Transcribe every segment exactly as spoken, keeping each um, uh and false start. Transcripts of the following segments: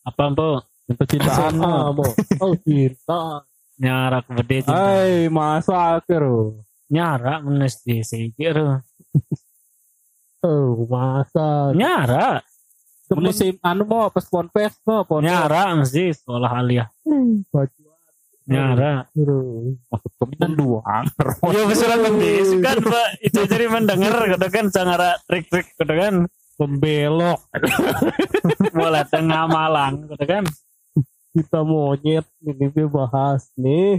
Apa Mbok? Percintaan Mbok. Oh cinta. Nyara kebede cinta. Hai masa akhir. Nyara menes di sikir. Oh masa. Nyara. Musim anu mau pas ponpes mau pon. Nyara mesti sekolah aliyah. Nyara. Maksud keminan doang. Ya besuran lebih kan Pak itu jadi mendengar gitu kan sangat trik-trik gitu kan Pembelok. mulai tengah Malang gitu kan. Kita monyet ini dia bahas nih.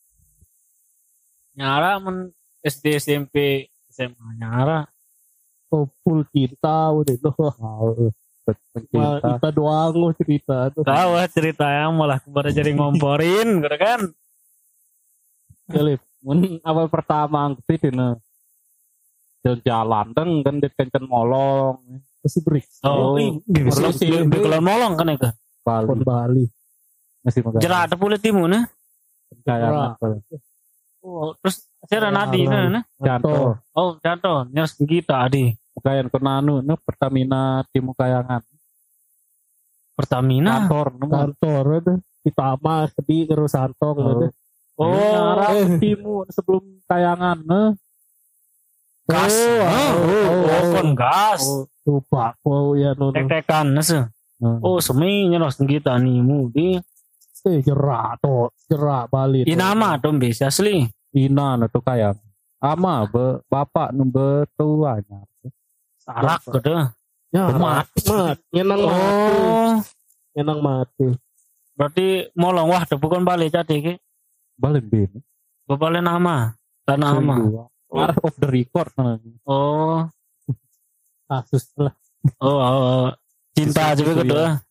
Nyara men S D S M P S M A nyara. Oh, full cinta udah itu. Cinta. Kita doang loh cerita tuh. Tahu cerita yang malah baru jadi ngomporin gitu kan. Galip, mun awal pertama ngepit ini jalan-jalan deng kan dit kencen molong. Masih break. Oh, bisa sih bekelan molong kan itu. Bali. Bali. Masih magang. Jerat ada pulit timu nah. Kayak Oh, terus saya nadi nah. Janto. Oh, Janto, nyers kita adi. Kayan kenanu no Pertamina Timu Kayangan. Pertamina. Kantor, kantor itu Pitama sedih terus Santong gitu. Oh, arah Timu sebelum Kayangan nah. Gas. Oh, oh, kon gas. Lupa oh ya no. Tek-tekan nase. Oh, semi nyeros kita nih mu di. Eh jerak to, jerak Bali. Inama dong bisa asli. Ina atau Kayang. Ama be bapak number tuanya. Sarak gitu. Ya, mati, mati. Nyenang oh. mati. Nyenang mati. Berarti molong wah tuh bukan balik jadi ki. Balik bin. Balik nama. Tanah nama. Oh. Off the record. Oh. Kasus lah. Oh, oh, oh. Cinta aja gitu.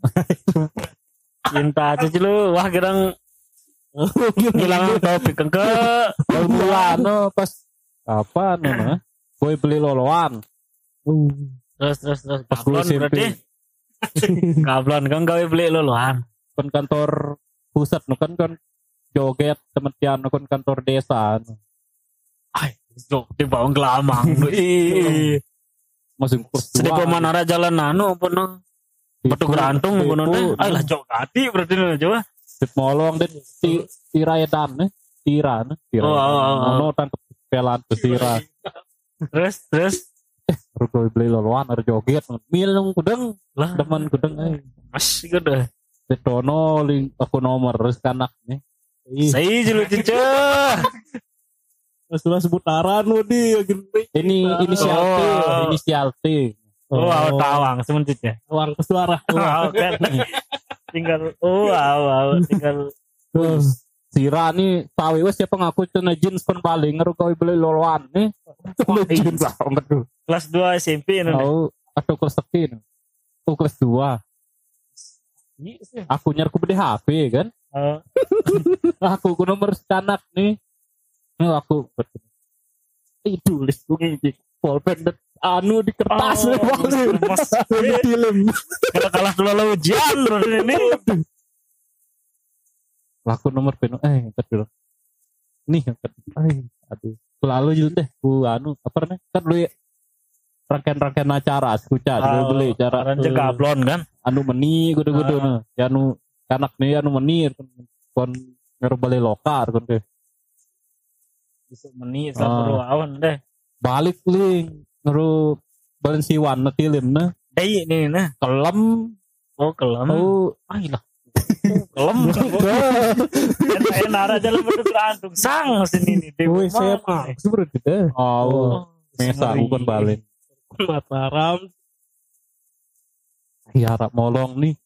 Cinta aja lu. Wah kirang hilang topik ke bulan no pas apa nama? Boy beli loloan. Uh. Terus terus terus kablon berarti kablon kan gawe beli loloan kan kantor pusat no kan kan joget temetian no kan kantor desa no. Ay jok di bawang gelamang ih masih kurs dua sedih pemanara jalan anu pun no batu gerantung pun no ay lah jok gati berarti no coba dit molong dit ti tiraedan ne tira ne tira no tangkep pelan pesira terus terus Rugo beli loloan ada joget milung kudeng lah demen kudeng eh masih gede Detono ling aku nomor terus kanak nih saya jelu cica sudah sebutaran lu di ini inisial T inisial T oh wow tawang semen cica tawang kesuara tinggal oh wow wow tinggal Sira nih tahu wes siapa ngaku cina jeans pun paling ngerugawi beli loloan nih cina jeans lah betul kelas dua S M P nih oh atau kelas sekian oh kelas dua aku nyarku beli H P kan oh. aku ku nomor canak nih nih aku itu tulis gue pulpen anu di kertas oh, di film kalau kalah dulu lo ujian ini laku nomor penu eh angkat dulu nih angkat eh aduh selalu juga deh ku anu apa nih kan lu rangkaian-rangkaian acara skuca oh, beli cara ranjang uh, gablon kan anu meni gudu-gudu uh. Nah ya anu kanak nih anu meni kon ngaruh balik lokar kon ke bisa meni sama uh. awan deh balik ling ngaruh balen siwan na tilim na dai ini nah kelem oh kelem oh ayolah kelem enak nara jalan bergerantung sang sini nih dewi saya mah seperti itu oh mesa bukan balik Mataram ya harap molong nih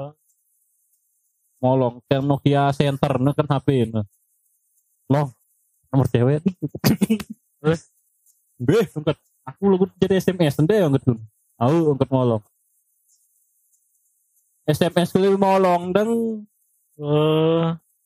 molong yang Nokia Center nih kan H P nih loh nomor cewek terus beh angkat aku lu jadi S M S deh angkat tuh aku angkat molong S M S kali molong dan eh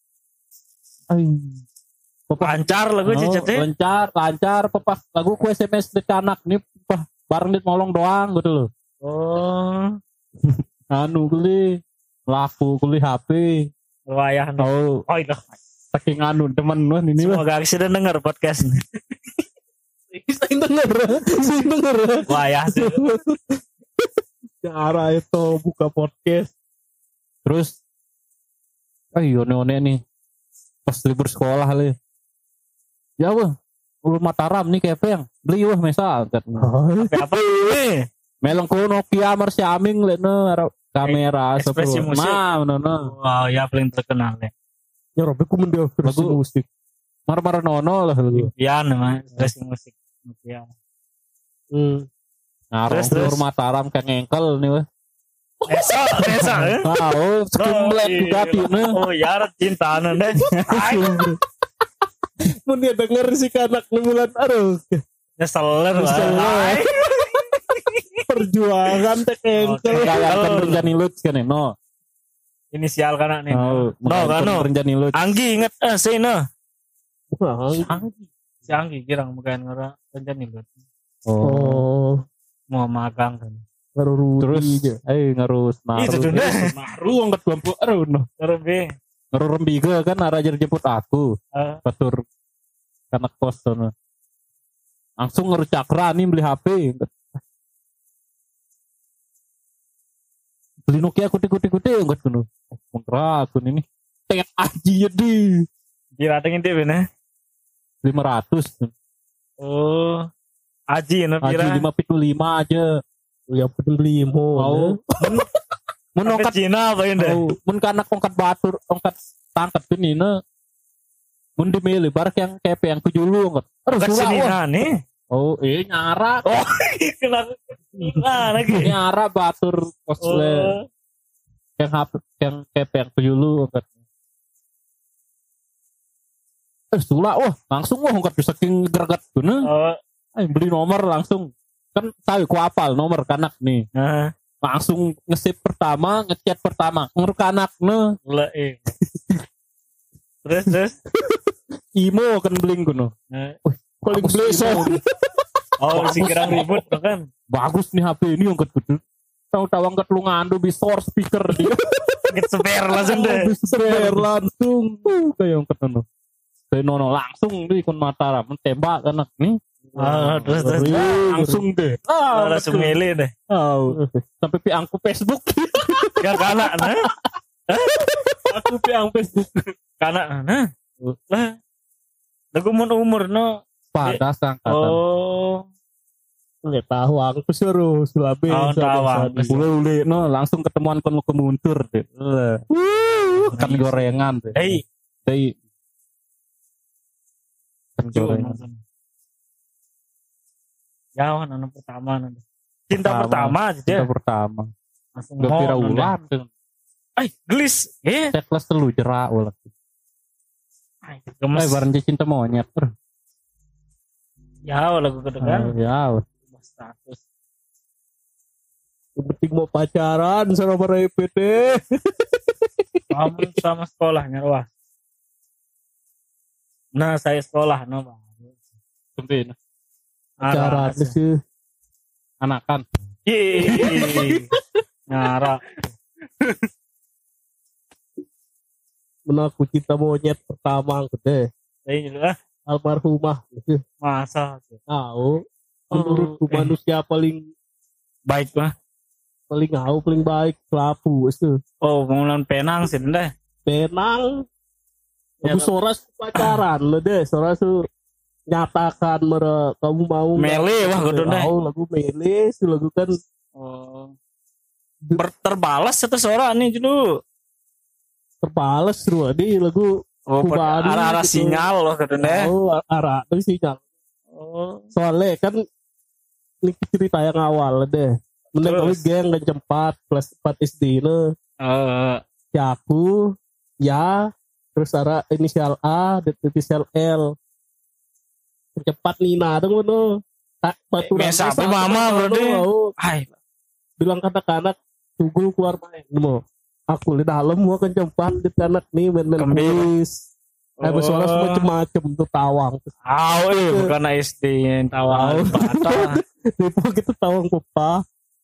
uh, lancar lagu oh, cicatnya lancar lancar pepas lagu ku S M S di anak nih pah bareng dit molong doang gitu loh oh anu kali laku kali H P wayah oh oh itu saking anu temen nuh ini semoga sudah denger podcast ini saya denger saya denger wayah sih cara itu buka podcast Terus ayo one-one nih pas libur sekolah le. Ya wah, ulu Mataram nih kepeng beli wah mesa angkat. Apa ini? Melong ko Nokia Marsiaming le no kamera Ekspresi sepuluh. musik. Nah, no no. Wow, ya paling terkenal ya. Ya Robi ku mendel Lagu- musik. Mar-mar nono lah lu. Impian mah ekspresi musik. Ya. Hmm. Nah, Terus, terus terus. Mataram kayak ngengkel nih wah. Esa, esa. eh? Ah, oh, skimlet juga nih. Oh, ya cinta deh. Ay, Mun dia denger si kanak bulan aduh nyeseler Nyesel lah. lah. Ay. perjuangan teh engkel. Kayak kan Renjani Lut kan no. Inisial kan nih. Oh, No, kan no. Renjani Lut. Anggi inget eh sih no. Anggi. Si Anggi kirang bukan ngora rencana itu. Oh. Oh, Mau magang kan. baru Terus Rudi aja. eh ngarus Itu naru. deh. Naru angkat lampu aduh no. Terus be. Ngaru rembiga kan arah ajar jemput aku. eh, Batur kanak kos sono. Langsung ngaru cakra nih beli H P. Beli Nokia kuti-kuti-kuti enggak kuno. Kontra aku ini. Tet aji jadi Kira tengin dia bener. lima ratus. Oh. Aji no Aji kira. lima puluh lima aja. Yang penting beli mo. Mau mun Sampai ongkat Cina apa ini? mau mun kanak ongkat batur ongkat tangkat ini ne. Mun dimilih barak yang kayak yang kejulu ongkat. Aduh Ke sulah, wah. Cina nih. Oh, eh nyara. Oh, kenapa? Nah, lagi. Nyara batur kosle. Oh. Yang hap yang kayak yang kejulu ongkat. Eh sulah wah, langsung wah ongkat bisa king greget guna. Oh, Eh beli nomor langsung. Kan tahu ku apal nomor kanak nih. nah, Langsung nge-save pertama, ngechat pertama. Ngeruk anak ne. lah eh. Terus terus. Imo kan beling kuno. Nah. Paling Bagus beli Imo. so. Oh, si kirang ribut tuh kan. Bagus nih H P ini yang kudu. Tahu-tahu angkat lu ngandu bisor speaker dia. Get spare langsung deh. Spare langsung. Uh, kayak yang ketemu. Kayak nono langsung di kon Mataram tembak anak nih. Ah, terus terus. Langsung deh. Ah, Langsung milih deh. Oh, sampai piangku Facebook. Gak kanak nah. Aku piang Facebook. Kanak nah. Lah. Lagu umur umur no. Pada sangkatan. Oh. Nggak tahu aku suruh Sulabe. Oh, tahu. Ule-ule no langsung ketemuan kon lu kemuntur deh. Kan gorengan deh. Hei. Hei. Kan gorengan. Ya, anak pertama nanti. Cinta Pertama. pertama aja. Kita pertama. Langsung Gak kira mau, ulan. Ay, gelis. Eh, Saya kelas telu jerak ulah. ay, Eh gemes. bareng dia cinta monyet. Ya, lagu kedengan. Ya. Status. Yang penting mau pacaran sama para E P T. Kamu sama sekolahnya, wah. Nah, saya sekolah, no, Bang. Sampai Pacaran Arah. sih. anakan. Ih, Nyara. Menaku cinta monyet pertama gede. Ini lah, Almarhumah. masa. Tahu. Menurutku Oh, eh. manusia paling Baik, mah. paling tahu paling baik pelapu itu. Oh, pengulangan penang sih, deh. Penang. Ya, Lagu Soras pacaran lo deh. Soras tuh nyatakan mere kamu mau nggak? Mele, wah, kudu deh. Mau lagu mele, itu lagu kan Oh. Ber- terbalas satu suara nih dulu. terbales tuh di lagu Oh, Kubani arah-arah gitu. sinyal loh katanya. oh arah dari sinyal. Oh. Soalnya kan ini cerita yang awal deh. Mending kami Terus? geng dan empat kelas empat S D ini. Eh, Ya aku, ya, terus arah inisial A dan inisial L. Cepat Nina dong tuh. Tak batu Eh, mesa apa, mama, berarti? hai. Bilang kata-kata tunggu keluar main mau. Aku di dalam mau kan cepat di anak nih main-main Kembali. kuis. Eh bersuara Oh. semua macam-macam tuh tawang. Aw, eh, bukan S D yang tawang. Patah. Itu kita tawang papa.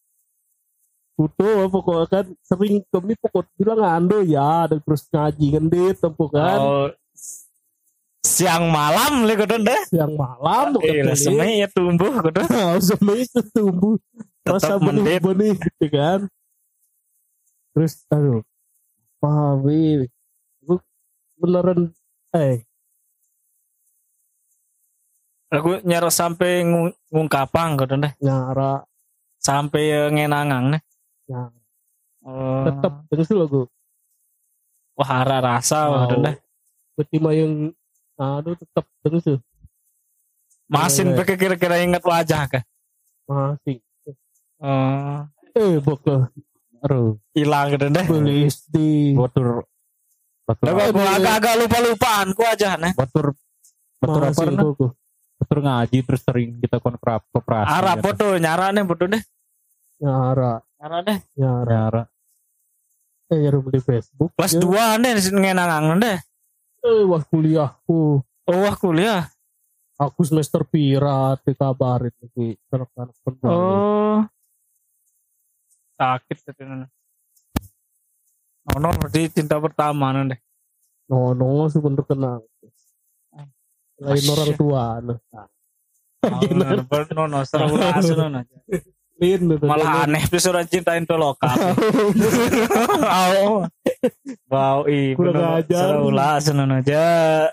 Foto pokoknya kan sering kami pokok bilang ando ya dan terus ngaji kan di tempo kan Oh, siang malam le kudu deh. yang malam Eh, lah semai ya tumbuh kudu. semuanya itu tumbuh Tetap rasa mendit. benih-benih gitu kan terus aduh Pawi. Gue beneran eh Aku nyara sampai ngung- ngungkapang gitu deh. nyara Sampai eh, ngenangang nih. nyara. Oh. Tetep terus lo gue. Wah, hara rasa gitu deh. Berarti mah yang aduh tetep terus tuh. Masin Iya, iya. pakai kira-kira ingat wajah kah? Masih. Oh, Eh bokeh. Aduh, hilang gitu deh. Beli S D. batur batur Lah gua agak-agak lupa-lupaan ku aja nih. batur batur apa Masih nah? bokeh. Batur ngaji terus sering kita kontrap koperasi. Arah gitu. foto nyara nih foto deh. Nyara. Nyara deh. Nyara. Nyara. Eh nyara di Facebook. Kelas ya. dua deh ngenangang deh. Eh wah kuliahku. Oh, wah kuliah. Aku semester pira dikabarin di rekan kerja. Oh. Sakit katanya. Oh, no, berarti cinta pertama nih deh. No no sebenernya kenal. Lain Masya. orang tua. Nah. Oh, no, no, seru langsung no. Lain Malah aneh tuh surat cintain tuh lokal. Oh. Wow, i Kurang bener ajar. seru langsung aja.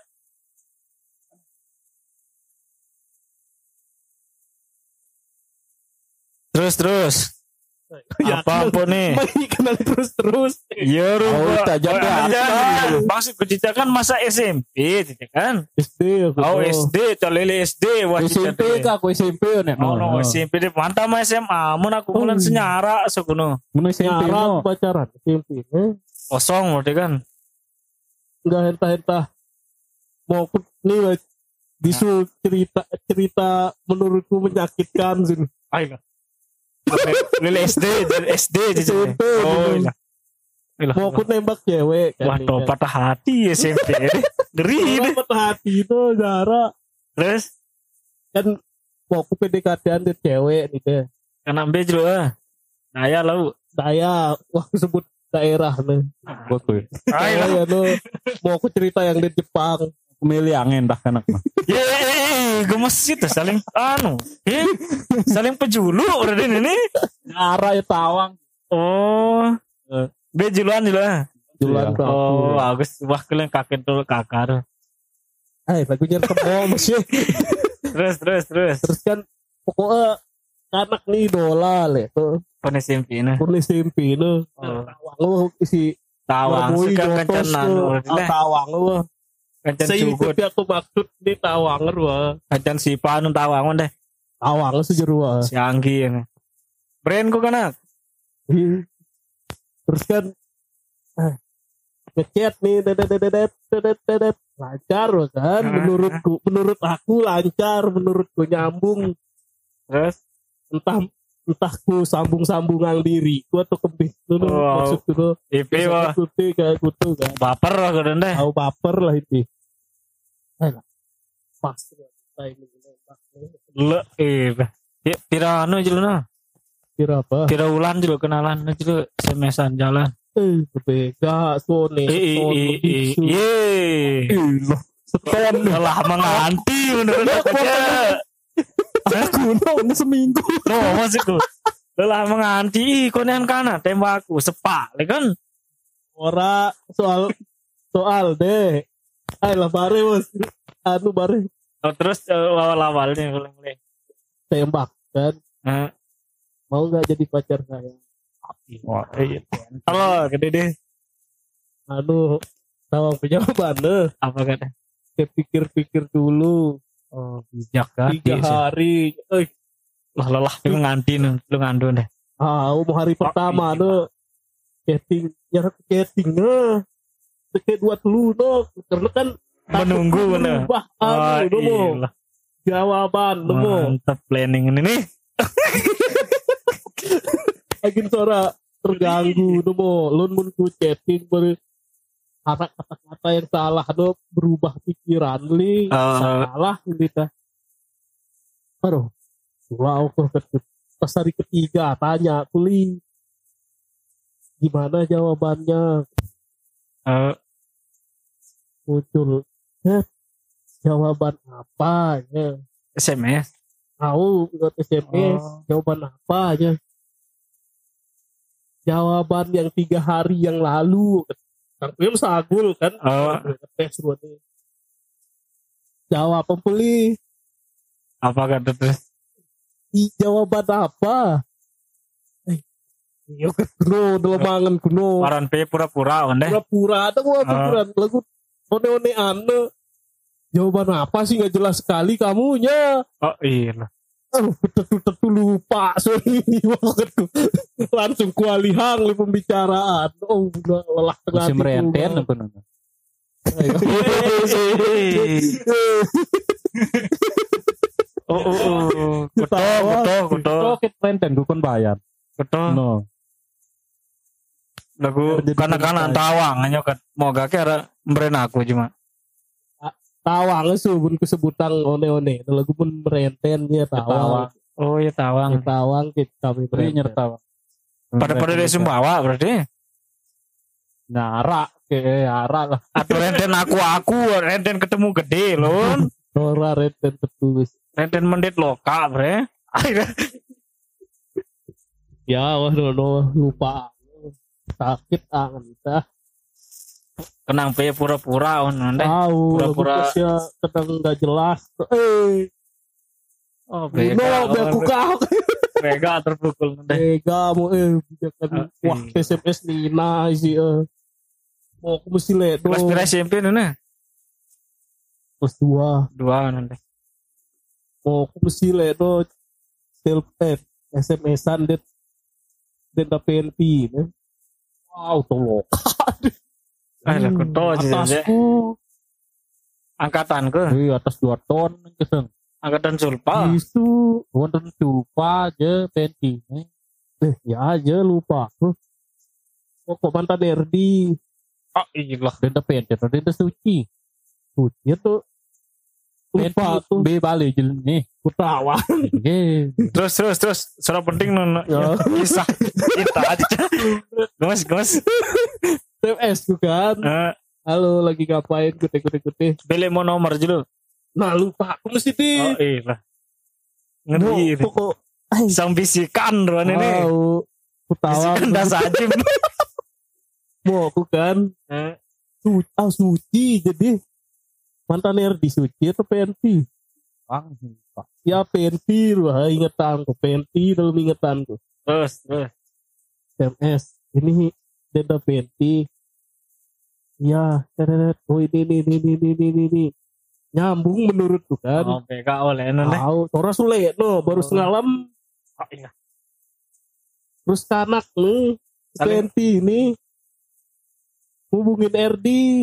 Terus terus. Apa apa nih? Masih kenal terus terus. Ya Oh, rupa. tak jadi apa? Maksud Cica kan masa S M P, Cica kan? S D aku. Oh S D, calele S D, wah S M P kah aku S M P nek. Oh no, S M P deh, mantap mah S M A, mun aku mulai Oh. senyara sekono. Mun S M P Nyara no. pacaran S M P. Eh, Kosong berarti kan. enggak hentah-hentah. Mau aku nih weh, bisu cerita cerita menurutku menyakitkan sih. Ayo. Lele S D, dari S D Cica. S M P, Oh gitu. iya. Ilah. Mau aku nembak cewek kan. Wah, toh patah hati S M P. Ngeri deh. Orang patah hati itu Zara Terus kan mau aku P D K T-an dari cewek nih deh. kan ambil dulu ah. Daya lau. Saya wah sebut daerah nih. Batur. Ayo. Saya no mau aku cerita yang di Jepang. Milih angin dah kanak mah. Ye, gemes itu saling anu. Eh, saling pejulu udah ini. Arah ya tawang. Oh. Be juluan juluan. Jualan Iya. Oh, bagus. Wah, kalian kakek tuh kakar. Eh lagunya tebal masih. Terus terus terus. Terus kan pokoknya anak nih idola le tuh. Pone simpina. Kunis simpi no. Oh. Tawang lu isi Tawang Ngabui suka jotos kencenan. tuh. Udah Ah, Tawang lu. Kencen Saya cukup. itu aku maksud di Tawang lu. Kencen si panu tawang deh. Tawang sejeru. Si Anggi ini. Brand ku kan. Terus kan eh, ngechat nih dedet dedet dedet dedet lancar loh kan menurutku menurut aku lancar menurutku nyambung Terus entah entah ku sambung-sambungan diri ku atau kebih dulu Wow. maksud dulu I P wah kuti kayak gitu kan baper lah kan deh. tahu baper lah itu eh lah pas timing nembak Le eh ya, pira anu aja lu nah. kira apa Pira ulan juga kenalan aja lu semesan jalan. eh beda sone Eh eh sone eh eh bisu ye. seton Telah menganti menurut aku aja. Aku no seminggu. No maksudku. Telah menganti ih konean kana tembakku sepak le kan. ora soal soal deh ayo lah bare bos anu bare Oh, terus uh, awal-awalnya mulai-mulai. tembak kan Nah, mau nggak jadi pacar saya Wah, iya. halo gede deh. anu tawang jawabannya Apa kata? saya pikir-pikir dulu Oh, bijak kan. tiga hari eh Lah lelah lu nganti nu, lu ngandu deh. ah mau hari pertama iya. no chatting nyara chatting no kayak dua dulu no karena kan Menunggu bener. berubah Oh, anu no mo iya. jawaban no mo Mantap planning ini nih. lagi suara terganggu no mo lun mun ku chatting ber anak kata-kata yang salah no berubah pikiran li Oh. salah gitu aduh wow kok pas hari ketiga tanya kuli gimana jawabannya Eh, muncul eh, jawaban apa ya S M S. tahu lewat S M S Oh. jawaban apa aja jawaban yang tiga hari yang lalu Tangkrim sagul kan. Oh. Tes buatnya. Jawab pembeli. Apa kata terus? I, jawaban apa? Eh, iya kan kuno, dalam mangan kuno. Waran pe pura-pura ondeh. Pura-pura ada gua Ah. pura lagu one-one ane. Jawaban apa sih nggak jelas sekali kamunya. Oh iya. Oh, betul-betul lupa sorry banget tuh. Langsung kualihang li pembicaraan. Oh, udah lelah tengah Musim renten apa nana? Oh oh oh. Kuto kuto kuto. Oh, kita renten gue kon bayar. Kuto. No. Lagu Jadi kanak-kanak penyanyi. tawang hanya kan mau gak kira mberen aku cuma. Tawang subun kesebutan one-one. Lagu pun merenten dia tawang. Oh ya tawang. Kita tawang kita kami Beri merenten. nyerta. Pada pada dari Sumbawa berarti. Nara ke ara lah. Atau renten aku aku renten ketemu gede loh. Ora renten tertulis. Renten mendit loka bre. Akhirnya Ya, wah no, lupa. Sakit angan kita. kenang pe pura-pura on ondeh. Tahu, Pura-pura. ya kadang nggak jelas. Eh, Oh Bino, bega. beku kau. Bega terpukul ondeh. Bega mau eh bijakan. Oke. Wah, S M S Nina sih. Eh. Mau aku mesti lihat Kelas dong. pira S M P nuna? Kelas dua. Dua ondeh. Mau aku mesti lihat dong. Telepon S M S-an det det P N P. Ne? Wow, tolong. Ah lah kuto sih. Atasku. Angkatanku, Wih, atas dua ton keseng. angkatan Sulpa. Isu. Wonten lupa aja penti. Eh, ya aja lupa. Huh. Oh, kok mantan R D. Oh iya lah. Denda penti, denda suci. Suci tuh. Lupa tuh. B balik jalan nih. Kutawa. Oke. Terus terus terus suara penting nuna. Ya. Kisah kita aja. Gemes gemes. T M S ku kan. Eh, Halo, lagi ngapain? Kute-kute-kute. Pilih mau nomor dulu. Nah, lupa. Aku mesti di. Oh iya lah. Ngeri. Mau, kok. Ay, Sang bisikan ruan ini. tahu. Kutawa. Bisikan das ajim. Mau aku kan. Eh, Suci. Ah, suci. Jadi. Mantan R D suci atau P N P? Bang, Ya, P N P. Wah, ingetanku. P N P dalam ingetanku. Terus terus. M S. Ini data P N P. Ya, teret. Oh ini ini ini ini ini ini, ini. Nyambung menurutku kan. Oh P K oleh nuna. Tahu, Tora sulit no, baru Oh. semalam Oh iya. terus kanak nih P Saling- N P ini hubungin R D.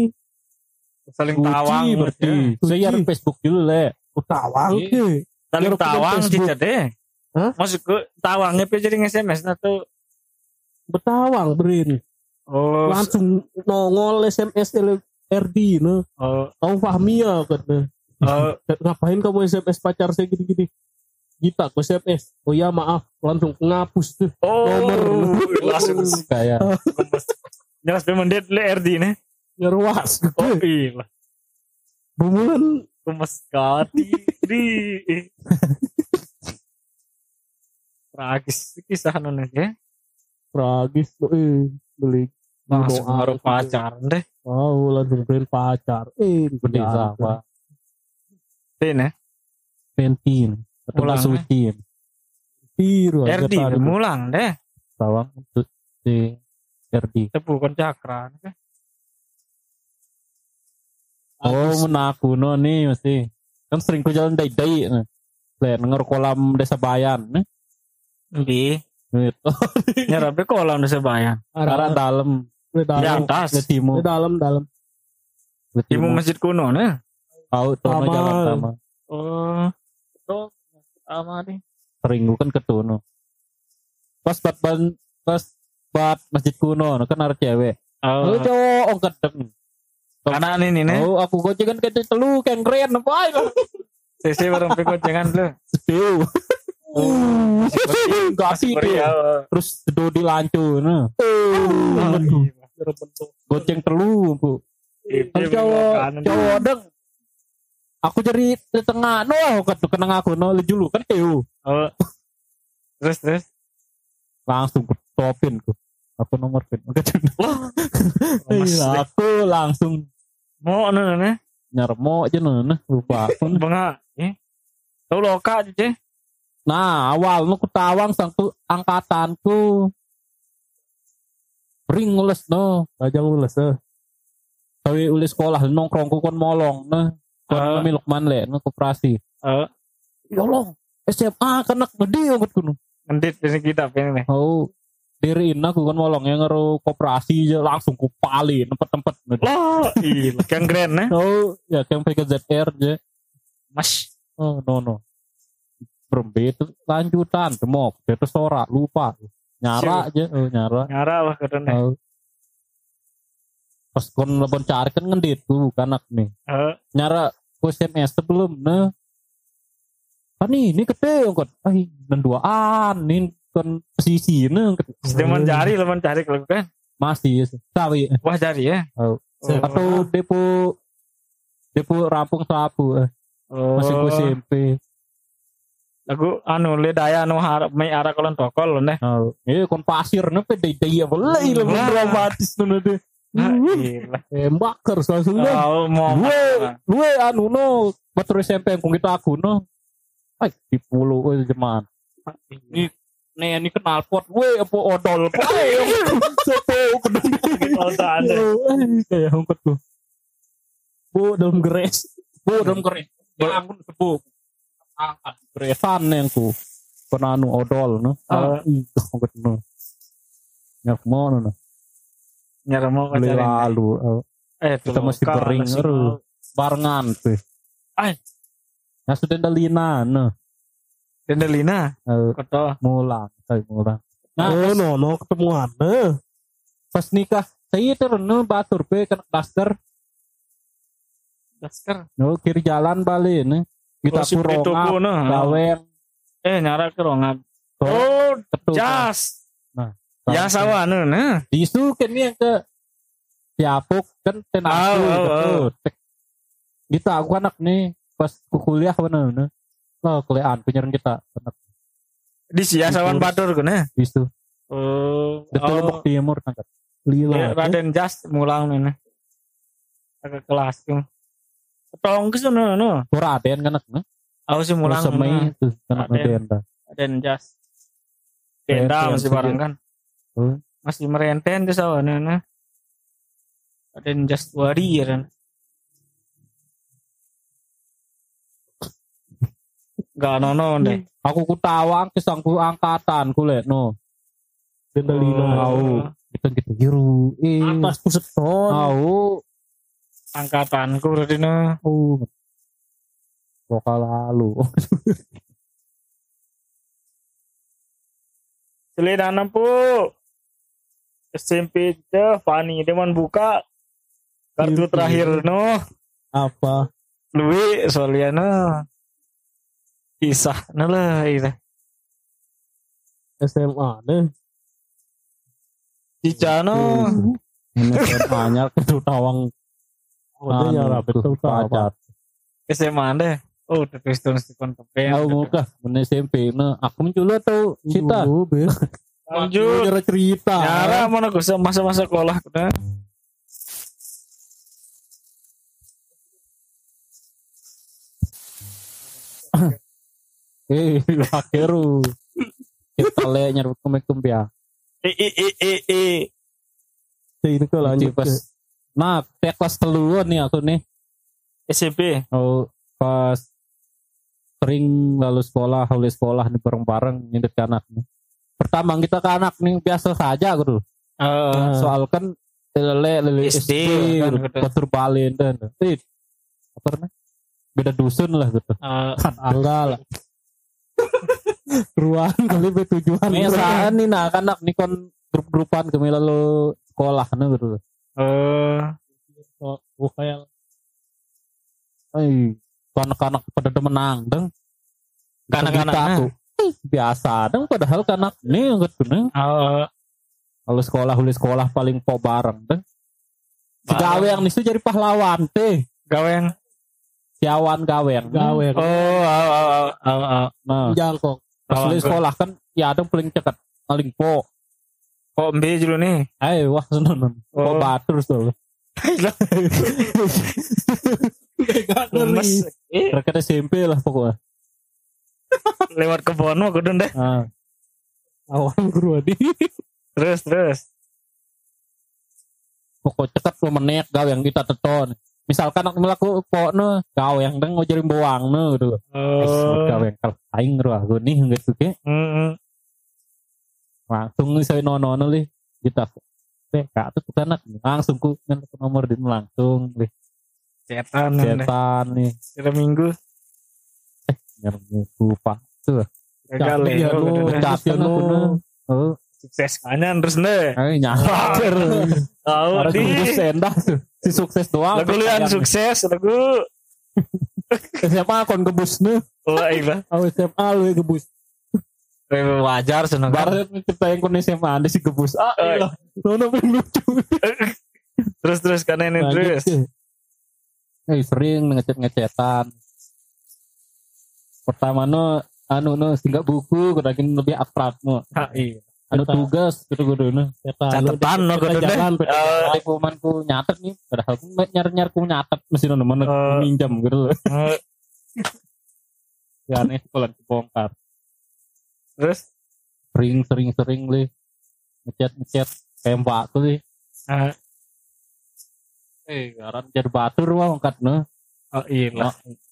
Saling suci tawang berarti. Suci. Share Facebook dulu le. Tawang Iya. ke. Saling Biar tawang Facebook. sih deh. Hah? Maksudku tawangnya pe jadi S M S nah tuh. Betawang berin. Oh. Langsung nongol S M S R D no. Oh. Kamu Fahmi ya kan. Oh. Ngapain kamu S M S pacar saya gini-gini? Gita aku S M S. Oh ya maaf, langsung ngapus tuh. Oh. Nomor. Langsung Kayak jelas pe mendit le R D nih. Ngerwas. Oh iya. Bumulan Gemes kati di. Tragis kisah nuna ya. tragis tuh eh beli Langsung doa. ngaruh pacaran deh. Oh, langsung beliin pacar. Eh, gede tidak. apa? Tin ya. Penti. Atau Ulang, suci. Biru R D aja, mulang deh. Tawang untuk di R D. Tepukan cakra. Oh, menaku no nih mesti. Kan sering ku jalan dai-dai. Nah. Lihat denger kolam desa Bayan. Nah. Di. Gitu. Nyerape kolam desa Bayan. Karena Arah dalam. di Di dalam, atas. Ke timur. di dalam, dalam. Ke Di timur. masjid kuno nah. Tahu tuh Sama. jalan sama. Oh. Itu sama nih. Sering gua kan ketuno. Pas bat ban pas bat masjid kuno no, kan ada cewek. Oh. Oh, cowok oh gedeng. Karena ini nih. Oh, aku gocengan ke telu kan keren apa ayo. Sisi bareng pikir jangan lu. Sedih. Oh, enggak sih Beri, dia. ya. Terus do dilancu nah. Oh, iya. Goceng telu, Bu. Itu Kan cowok kanan. cowok deng. Aku jadi di tengah no kan kenang aku no dulu kan teu. Oh. Terus terus. Langsung ketopin ku. Apa nomor pin? Wah. Iya, aku langsung Mau anu nih. nyermo aja nah lupa aku. Benga. Eh. Tahu loka aja. Nah, awal nu kutawang sangku angkatanku ring ules no, Bajang ules eh. kawi ulis sekolah nongkrongku kon molong nah. Kon Ah. uh. Lukman le no koperasi. Eh, Ya Allah, S M A kanak gede angkat kuno. ngendit dari kita pengen nih. Oh, diriin aku kan molong yang ngaruh koperasi aja langsung kupali tempat-tempat. Wah, iya, yang keren nih. Oh, ya yang pakai Z R aja. Mas. Oh, no no. Berembe itu lanjutan demok, itu sorak lupa. Nyara aja, oh nyara. Nyara lah keren nih. Oh. Pas kon lebon cari kan ngendit tuh kanak nih. Eh, Nyara ku S M S sebelum nah. Kan ini kete angkat. Ai, dan duaan nih kan posisi nih. sedang mencari, lah mencari kalau kan. Masih sawi. Wah cari ya. Oh. Oh. Atau depo depo rampung sapu eh. Oh. Masih ku S M P. Lagu anu le daya anu harap mai arah kolon tokol nih. Oh. Eh kon pasir nih pe daya boleh lebih Wah. dramatis nih deh. Ah, iya. Tembak terus langsung dah. Oh, mau. Gue gue anu no batur S M P yang kita aku no. Ay, di pulau gue jeman. Ini nih ini kenal pot gue apa odol pot. Sopo kedeng. Oh, tak ada. Kayak hongkot tuh. Bu dalam geres. Bu dalam keren. Bangun sebu. Angkat geresan yang ku. Penanu odol no. Ah, hongkot no. Nyak mau no. Nyara mau Beli cari. lalu. Eh, Kita masih bering terus. Barengan tuh. Ay. Ya sudah dalina no. Dendelina. Eh, Koto. mulang, saya mulang. Nah, Oh, no, no ketemuan. Eh. pas nikah saya terus no batur pe kena daster. Dasker. No kiri jalan balik nih. Kita Oh, si Prito puronga, ku, nah. gaweng, Eh, nyara ke rongat. to, Oh, ketuk. jas. Nah, Ya sawan nah. Disu kan yang ke Siapuk kan ten aku Oh, oh, gitu. oh. Kita aku anak nih pas ku kuliah mana nih. Lo kuliahan penyiaran kita anak Di sia sawan batur ku nah. disu. Oh, Detul Lombok Timur angkat. Lila. Ya, Raden Jas mulang nih. Nah. Agak kelas ku. Tolong ke sana no. Raden kan anak nih. Aku sih mulang. Semai itu anak Raden. Denda. Raden Jas. Denda Renten masih sih. barang kan. Oh. Masih merenten tuh sawan nah. Raden Jas warrior. Gak nono deh. Aku ku tawang kesangku angkatan ku le no. Dendelina. Tahu. Kita gitu biru. Eh. Atas puset ton. Tahu. Angkatanku berarti no. Oh. Lokal lalu. Selidana pu. S M P teh Fani deman buka kartu Iya. terakhir no. Apa? Lui soalnya kisah nah lah itu. S M A deh. Cica no. Ini banyak itu tawang. Oh, dia nyara betul pacar. S M A deh. Oh, terus terus di kontak. Aku muka men S M P nah aku menculo tuh cita. Oh, be. Lanjut. Nyara cerita. Nyara mana gue masa-masa sekolah kita. Eh, akhirnya kita le nyarut kemekum ya. Eh eh eh eh eh. Ini ke lanjut. Pas nah, teh kelas telu nih aku nih. S M P. Oh, pas sering lalu sekolah, lalu sekolah nih bareng-bareng nyindet ke anak nih. Pertama kita ke anak nih biasa saja gitu. Eh, Soal kan lele lele S S D, D, kan, gitu. gitu. Batur Balen dan eh apa namanya? Beda dusun lah gitu. eh, Tangga lah. Ruang kali bertujuan. Biasaan nih nah anak nih kon grup-grupan kami lalu sekolah nih gitu. eh, Oh, oh, kayak Eh, anak-anak pada menang dong. Kanak-kanak, aku. Eh, biasa dong padahal kanak nih gitu nih. eh, Kalau sekolah uli sekolah paling po bareng deh. Si Bareng. gawe yang nisu jadi pahlawan teh. gaweng. Siawan gawe yang. gawe. Oh, oh, oh, oh, oh, oh. Nah, Jangkok. pas uli Kawan, sekolah kan ya ada paling cekat paling po. Kok mbe dulu nih. Ayo wah seneng. Kok Oh. batur tuh. Gak Lemes. Eh, Rakyat S M P lah pokoknya. lewat kebon mah kudu deh. Ah. Awal guru adi. Terus terus. Pokok cekat lo menek gawe yang kita teton. Misalkan aku melaku pokoknya gawe yang deng ngajarin bawang no gitu. Oh. Gawe yang kalau aing roh aku nih gitu ke. Heeh. Langsung nih saya nono nih kita. Eh kak tuh anak langsung ku nyentuh nomor di langsung nih. Setan deh. Setan nih. Kira minggu. Nyerbu lupa tuh. Gagal Capek ya, ya. lu. Udah, udah. Capek Capek, aku no. nih. Oh, Sukses kanyan terus deh. ayo nyakar. Tahu Ada di. kudu sendah tuh. Si sukses doang. Lagu lian sukses lagu. Siapa kon gebus nih. Wah iya. Awe S M A lu ya gebus. Wajar seneng kan. Barat kita yang kon S M A ada si gebus. Ah, Oh, iya. Nono paling lucu. Terus terus karena ini terus. Eh sering ngecet-ngecetan. Pertama no anu no singgah buku kudakin lebih abstrak no. Ah, iya. Anu tugas gitu kudu no. Catatan no kudu deh. Jalan Eh, Aku manku nyatet nih padahal aku nyar-nyar ku nyatet mesti no mana Eh. minjam gitu. eh, Ya aneh sekolah dibongkar. Terus Sering sering sering li ngecet-ngecet kayak mbak tuh li. ah, Eh garan jar batur wah angkat no. oh iya lah.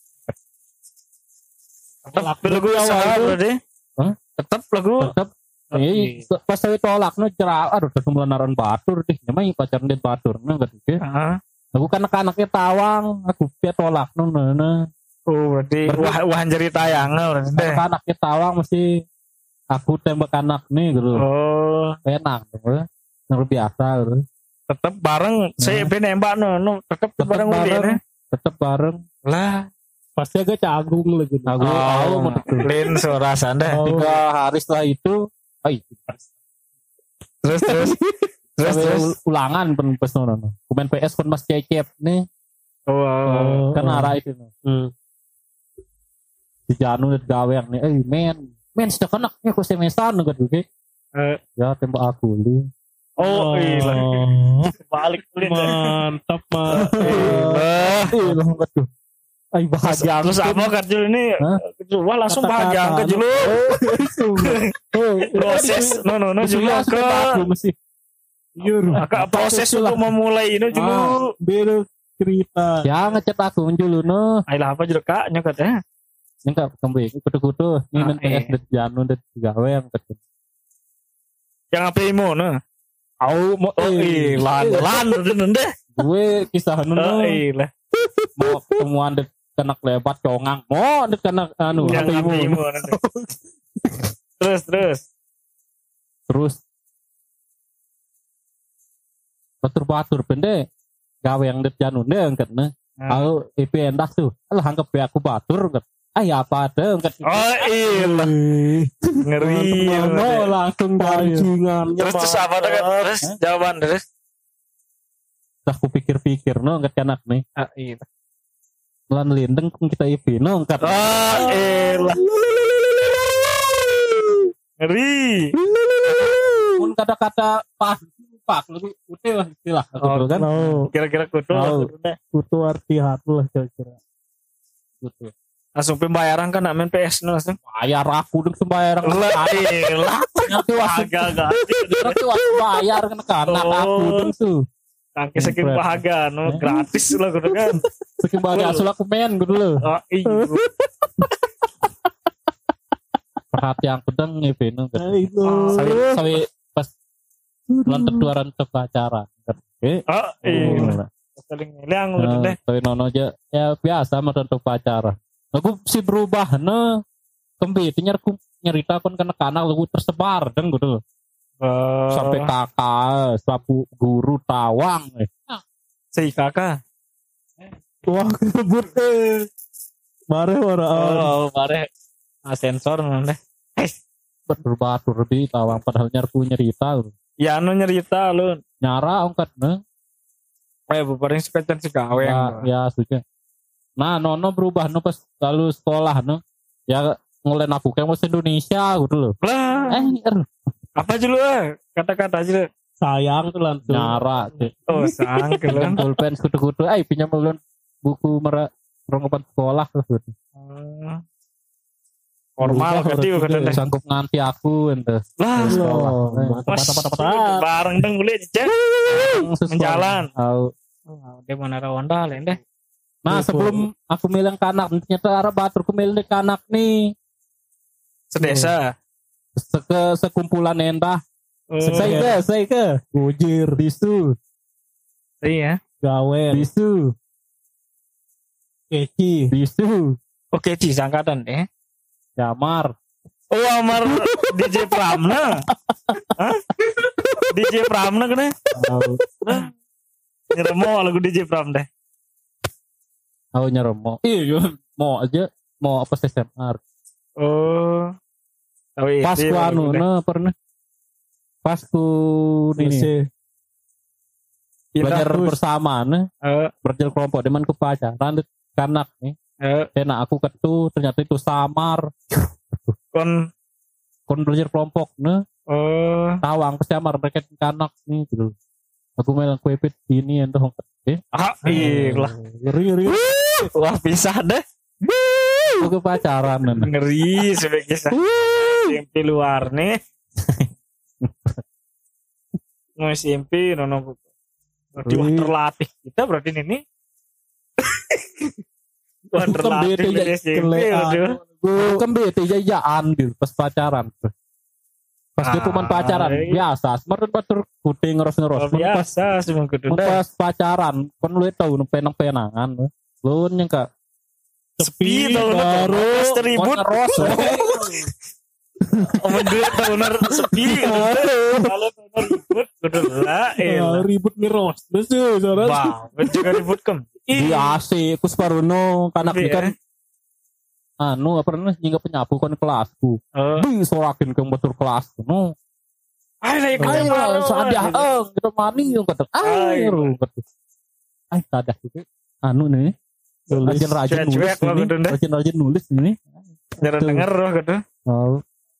Tolak Tetap lagu usaha berarti. Hah? Tetap lagu. Tetap Oh, eh iya. pas saya tolak no cerah aduh udah semularan batur deh. Namanya pacaran dia batur no gitu. Ah, Aku kan anak-anaknya tawang, aku dia tolak no nana. oh berarti Berarti- wah wah jadi tayangan berarti deh. Anak-anaknya tawang mesti aku tembak anak nih gitu. Oh, Enak gitu. Yang biasa gitu. tetap bareng. Saya ben nembak no, no tetap Tetep bareng bareng. udah. Tetep bareng. Lah, pasti agak cagung lagi. Aku tahu mau betul. Lin suara sanda. Oh. Tiga hari setelah itu, ay, Terus terus terus sampai terus. ul- ulangan pen pes no, no. Kumain P S kon mas cecep nih, Oh, oh, kan arah itu no. Hmm. Di Janu dan gawe yang nih, eh men, men sudah kenaknya aku semesan nggak juga. Eh. Ya tembak aku li. oh, iya. Oh, Balik Lin. mantap mah. Wah, Eh lah nggak tuh. Ay bahagia. terus apa Kajul ini? Hah? Wah langsung Kata-kata, bahagia angkat dulu. Oh, Proses, no no no dulu Jelas ke aku mesti. Yur. agak proses untuk memulai ini dulu. Ah, beda cerita. Ya ngechat aku dulu no. Ayolah apa juga kak nyokat ya? Nengkap kembali kudu-kudu ini Ah, men P S iya. dan Janu dan gawe yang ketemu. Yang apa imo no? Au mau Oh iya, lan lan udah deh. gue kisah Oh no iya, mau ketemuan dek kenak lebat congang mau dek kenak anu yang H P apa mu. imo. Terus terus. Terus batur-batur pende gawe yang dek Janu deh angkat nah. Ah. Aku I P endah tuh. Alah anggap ya aku batur angkat. Ah ya apa ada angkat. Oh iya, ngeri. No langsung Pancingan. Terus terus apa tuh kan? Terus jawaban terus. Dah aku pikir-pikir no angkat kanak nih. Ah iya. Lan lindeng kita I P no angkat. Oh iya. Ngeri. Pun kata-kata pas pak lu udah lah istilah Oh, kan. No, Kira-kira kudu Oh. lah. butuh arti hati lah kira-kira. Gitu. Langsung pembayaran kan nak main P S no langsung. Bayar aku dong sembahyang. Lah iya. Nanti waktu Agak-agak. nanti waktu bayar kan ke anak Oh. aku dong tuh. Kaki saking bahagia no gratis lah kudu kan. Saking bahagia asal aku main gitu loh. Oh iya. Perhatian pedang nih Vino. Nah, itu. Sawi sawi pas bulan terduaran ke acara. Oke. Oh iya. Saling ngilang udah deh. Sawi nono aja ya biasa mah untuk acara. Aku si berubah no. Kembi nyerku nyerita kon kena kanak lagu tersebar dan gitu loh. Oh. Sampai kakak, sapu guru tawang. Eh. Si kakak. Wah, kebut eh. Mare waraan. Oh, bare. Ah, sensor nanti. Berbatur di tawang padahal nyerku nyerita. Ya anu nyerita lu. Nyara ongkat no. Eh, bubaring suka can gawe. Ya, ya suka. Nah, nono berubah no pas lalu sekolah no. Ya ngulen aku kayak mau Indonesia gitu loh. Lah. Eh, er, Apa aja lu? ah? Kata-kata aja. Lu. Sayang tuh langsung. Nyara. Oh, sang Pinjam kelam. pulpen kutu-kutu. Eh pinjam ulun buku merah perlengkapan sekolah tuh. Formal Udah, berarti udah, kata udah. deh. Sanggup nganti aku ente. Lah, Loh, Eh, mantap, Mas, mantap, mantap, mantap. bareng dong boleh cek. Menjalan. Tahu. Oh, dia mana rawanda lain deh. Nah sebelum aku milih kanak ternyata arah batur aku milih kanak nih Sedesa. Seke sekumpulan entah. Oh, Saya ke, saya ke. Gojir, Bisu, iya. gawer, bisu, keci. bisu, Oke, di sangkatan deh. jamar. Oh, Amar D J Pramna. Hah? D J Pramna kena. Tahu. Nyeremo lagu D J Pram deh. Tahu nyeremo. Iya, mau aja mau apa S M R. Oh. Oh, iya, Pas ku iya, anu lagu deh. nah pernah. Pas ku ini Ini. belajar Pindah, bersama nah Eh, belajar kelompok deman ku pacaran kanak nih. eh, Enak aku ketu ternyata itu samar. kon Kon belajar kelompok nah oh, tawang ke samar mereka kanak nih gitu. Aku melang kue pit ini entah eh ah, iya lah. Ngeri, ngeri. Wah, pisah deh. aku ke pacaran nah. Ngeri sebagai kisah. S M P luar nih. Mau S M P nono. Berarti wah Wih. terlatih kita berarti ini. Wah Bukan terlatih beda, di ya, S M P. Kelean. waduh. Gue kan bete jajaan gitu pas pacaran. Pas dia Ah, cuman pacaran iya. biasa, semarin batur kuting ngeros-ngeros. Oh, Mun pas biasa semua kudu mun deh. pas pacaran, kon lu tahu nu penang-penangan. Lu nyangka Sepi tau baru pas teribut. ngeros. Omong dua tahunan sepi. Kalau tahunan ribut kudu lah. Ya, Elah. ribut miros. Betul, saudara. Bang, juga ribut kem. Di A C ku separuno kanak Tapi, kan anu apa namanya nyingga penyapu kon kelasku. Oh. Di sorakin ke batur kelasku. No. Ayo lah ikut Ayo malu. sadah eh kita mani yang kata ayo kata. Ay sadah juga. Anu nih. Rajin-rajin nulis Cuek-cuek lah ini. kudu deh. Rajin-rajin nulis ini. Jangan denger roh kudu. Oh,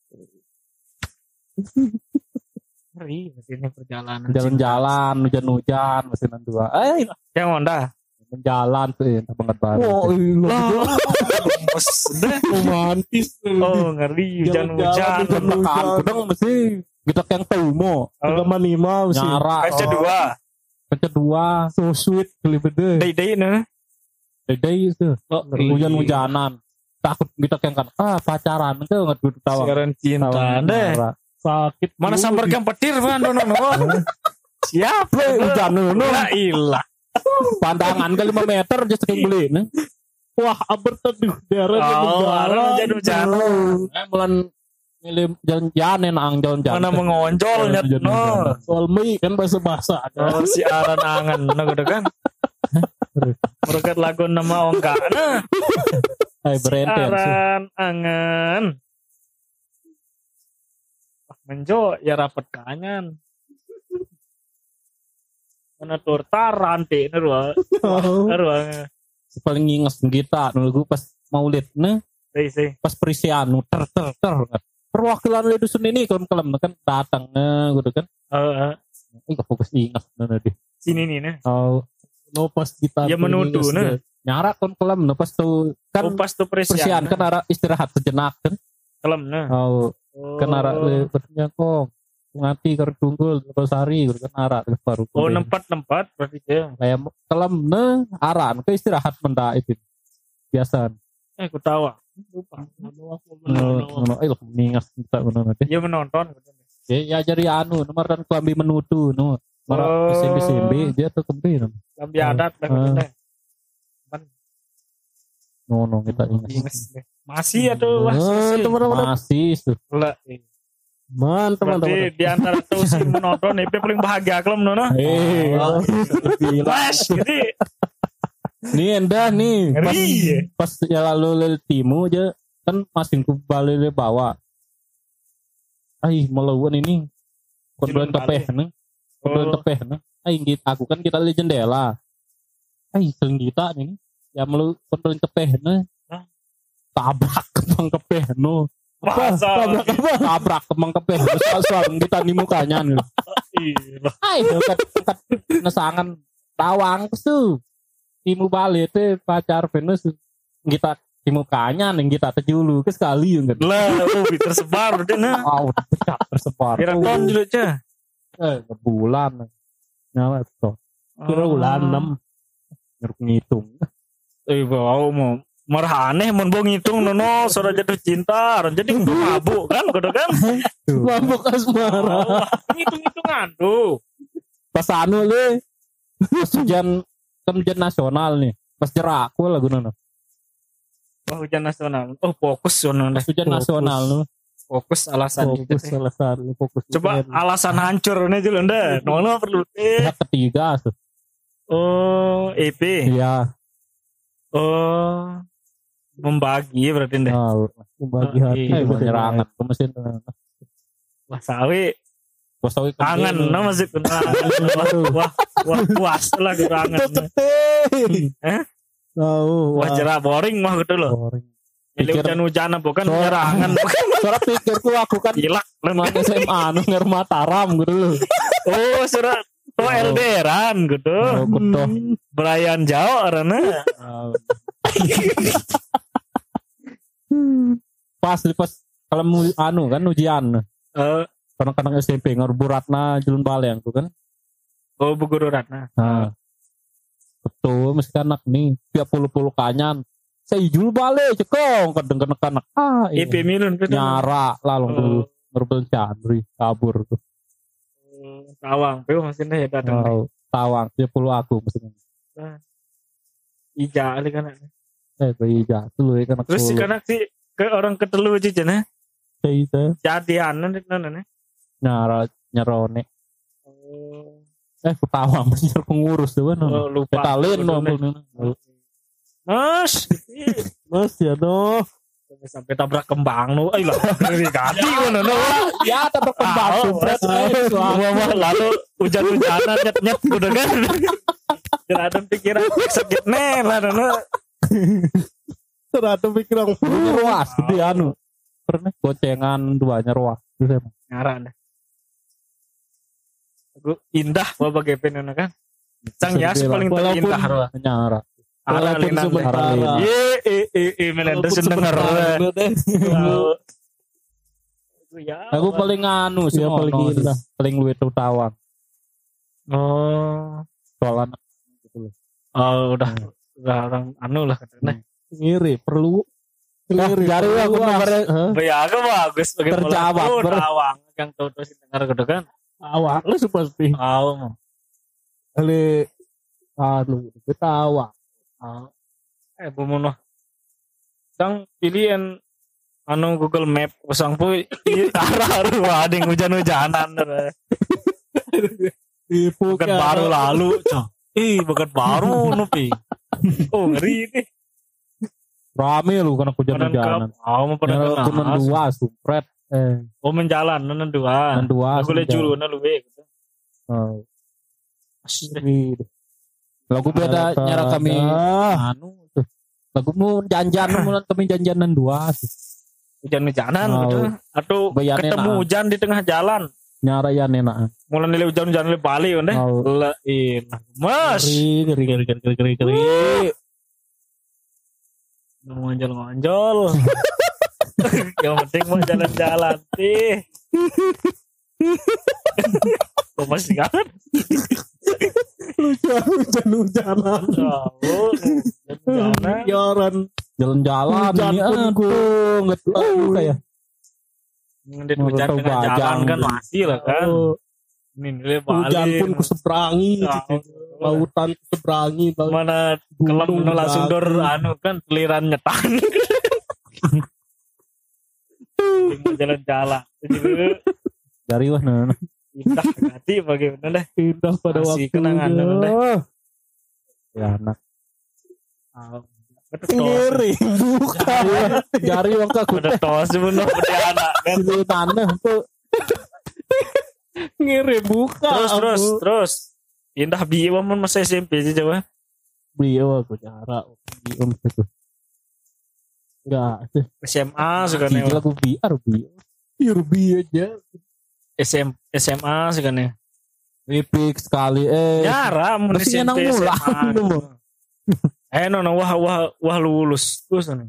Ngeri ini perjalanan. jalan-jalan, hujan-hujan, mesinan dua. Eh, Yang Honda. jalan tuh ya, banget banget. Oh, iya. Lah. Bos deh. Romantis. Oh, ngeri hujan-hujan. Jalan-jalan, Tekan hujan. kudang mesti kita yang tahu mo Agama lima sih. nyara. Kaca dua. Kaca dua, So sweet, kali beda. Dai-dai nih. dede itu Oh, hujan-hujanan. Takut kita yang kan ah pacaran itu nggak gue tahu. Siaran cinta deh. Sakit. Mana sambar yang petir kan dono no. Siap Hujan nu Lah ilah. pandangan ke lima meter aja sering beli nih. Wah, aber teduh darah Oh, arah hujan-hujanan. Eh bulan milih jalan-jalan ang jalan-jalan. Mana mengonjol nyet no. soal mie kan bahasa bahasa. Oh, si aran angan no gitu kan. Merukat lagu nama ongka nah. Eh berenten sih. Aran angan. Ah, menjo ya rapat kanyan. Mana torta rantai nerwa. Nerwa. Paling nginges kita nunggu pas maulid nih Sei sei. pas perisian ter ter ter perwakilan dari dusun ini kan kelem kan datang nih gitu kan. Eh, Ih fokus ingat nih deh. sini nih nah. Oh No pas kita. Ya menuduh, nah. nyara kan kelem nih pas tuh kan Oh, pas tuh perisian persian kan arah istirahat sejenak kan. kelem nah. Oh Oh. kan arah berarti kok ngati ker tunggul terus hari gitu kan arah baru. Oh, nempat-nempat berarti ya. Kayak kelem nih aran ke istirahat menda itu biasa. Eh, aku tahu. ah. Lupa. Ngono eh ningas kita ngono nanti. Dia menonton. Ya ya jadi anu nomor dan kelambi menutu no. Mara Oh. S M B S M B dia tuh kembi no. Lambi adat dah Ah. gitu deh. No no kita ingat. Inges deh. Masih atuh wah. Ah, teman-teman. Masih tuh. Lah. Mantap, mantap, Berarti mantap. di antara tuh si menonton itu paling bahagia kelem nono. Eh, Flash gitu. nih endah nih pas, Ngeri. pas ya lalu lele timu aja kan masih ku balik le bawa. Ai melawan ini korban Film tepeh nih. Korban Oh. tepeh nih. Ai gitu aku kan kita lihat jendela. Ai sering kita nih ya melu korban tepeh nih. Hah? Tabrak kepang kepeh no. Masa tabrak apa? Tabrak kemang kepes soal kita di mukanya nih. iya. Ayo kat kat nesangan tawang tuh. Timu balik teh pacar Venus kita di mukanya nih kita tejulu ke sekali enggak. Lah, oh tersebar udah nah. Oh, pecah tersebar. Kira tahun dulu cah. Eh, bulan. Nyawa tuh. Kira bulan enam. Ngeruk ngitung. Eh, bau mau merhaneh mun bo ngitung nono sora jatuh cinta, ron jadi kudu mabuk kan, kudu kan. Mabuk asmara. Oh, hitung-hitungan tuh. Pas anu le. Pas ujian kan ujian nasional nih. Pas jeraku lagu nono. Oh, ujian nasional. Oh, fokus nono Pas deh. ujian nasional no. Fokus alasan Fokus gitu. alasan fokus. Coba alasan hancur nih dulu nda. Nono perlu eh. Pihak ketiga tuh. Oh, E P. Iya. Oh. Membagi berarti nda. Oh, Membagi Oh, hati. iya. eh penyerangan ke mesin. Wah, sawi Bos tahu kangen nah masih kangen. Wah, wah, wah, puas lah gitu kangen. Eh? Tahu. Wah, jerak boring mah gitu loh. Boring. Ini Pikir- hujan-hujanan bukan So- penyerangan, bukan Soalnya pikirku aku kan gila. Nang S M A nu ngar Mataram gitu. Oh, surat to L D R-an gitu. Oh, kudu. Berayan jauh arana. Pas pas kalau mau anu kan ujian. Eh, Kadang-kadang S M P ngar Buratna Julun Baleng tuh kan. oh Bu Guru Ratna. Nah. Betul, mesti anak nih tiap puluh-puluh kanyan. Saya jul balik cekong kadang-kadang anak. Ah, I P Milun gitu. nyara lalu tuh Oh, ngerbel candri kabur tuh. Tawang, peu masih ya datang. Wow, tawang tiap puluh aku mesti. Ija ali kan. Eh bayi jatuh loh kan. Terus si kanak si ke orang ketelu aja cenah. itu Jadian nana. nyara nyarone. Oh, Eh ketawa masih pengurus tuh kan. oh, lupa. Petalin no. Mas, Mas ya doh. sampai tabrak kembang nu. Ai lah, ngeri kati ngono no. Ya tetap kembang Ah, sumpret. Wah, lalu hujan-hujanan nyet-nyet udah kan. Jangan pikiran sakit nih lah no. Ternyata pikiran Ruas gede anu. Pernah gocengan duanya ruas. Terus emang. Ngarang dah. Aku indah bawa gepen ngono kan. Sang Yas paling Walaupun- terindah roh. Nyara. Ara Walaupun linan. sementara. Ye eh eh eh Melinda Walaupun seneng sebentar, denger. deh. Ya. Aku paling anu sih Ya, paling ono, indah. paling luwih tuh tawang. Oh. Soal anak gitu loh. Oh, udah udah orang anu lah katanya. Ngiri perlu. Nah, Ngiri. jari perlu, aku Mas. nomor Hah? Ya, aku bagus bagi Terjawab, bola. Oh, ber- Tawang yang tahu terus denger gitu kan. Awak lu pasti. Oh. Ale anu ketawa. Oh. Eh, bumunuh. Sang pilihan anu Google Map usang pu arah arah ada yang hujan-hujanan. Ibu Bukan baru lalu, cok. Ih, bukan baru nupi. Oh, ngeri nih. Rame lu karena hujan-hujanan. Oh, mau pada Nyara kenal. kunan dua sumpret. Eh, Oh, menjalan nenen dua. kunan dua. Aku lihat sumpret. julu na luwe gitu. Oh. ngiri. Lagu beda nyara kami anu tuh. Lagu mu janjan mulan kami janjanan dua. Hujan-hujanan Oh. gitu. Atau Bayarnya ketemu nah. hujan di tengah jalan. Nyara ya enak. Mulai nilai hujan-hujan nilai Bali kan deh. Oh. Lein. Mas. Ngiri, ngiri, ngiri, ngiri, ngiri, ngiri. Ngonjol-ngonjol. Yang penting mau jalan-jalan sih. Oh, masih kangen. Hujan-hujanan. Oh, hujan-hujanan. Yaran. Jalan-jalan Hujan ini pun aku nggak tahu kayak Ngedit hujan Mau tengah bajang. jalan kan masih lah kan. Oh, Ini nilai Bali. hujan pun kuseberangi. Oh. Lautan kuseberangi. Mana Gunung kelem nu langsung dor batu. anu kan teliran nyetan. Tinggal jalan-jalan. Jadi dari mana? indah hati bagaimana deh. Indah pada Masih waktu. kenangan, deh. Ya anak. Ngiri. Bukan. Jari wong aku Udah tos sebenarnya udah anak kan. di tanah tuh. Ngiri buka. Terus terus aku. terus. Indah biwa mun masa S M P aja coba. Beliau aku cara. Om itu. Enggak. S M A suka nih. Lagu B R B. R B aja. S M S M A suka nih. Epic sekali eh. Nyara mun Masih S M nyenang P S M mula. A. Eh no no wah wah wah lulus terus nih.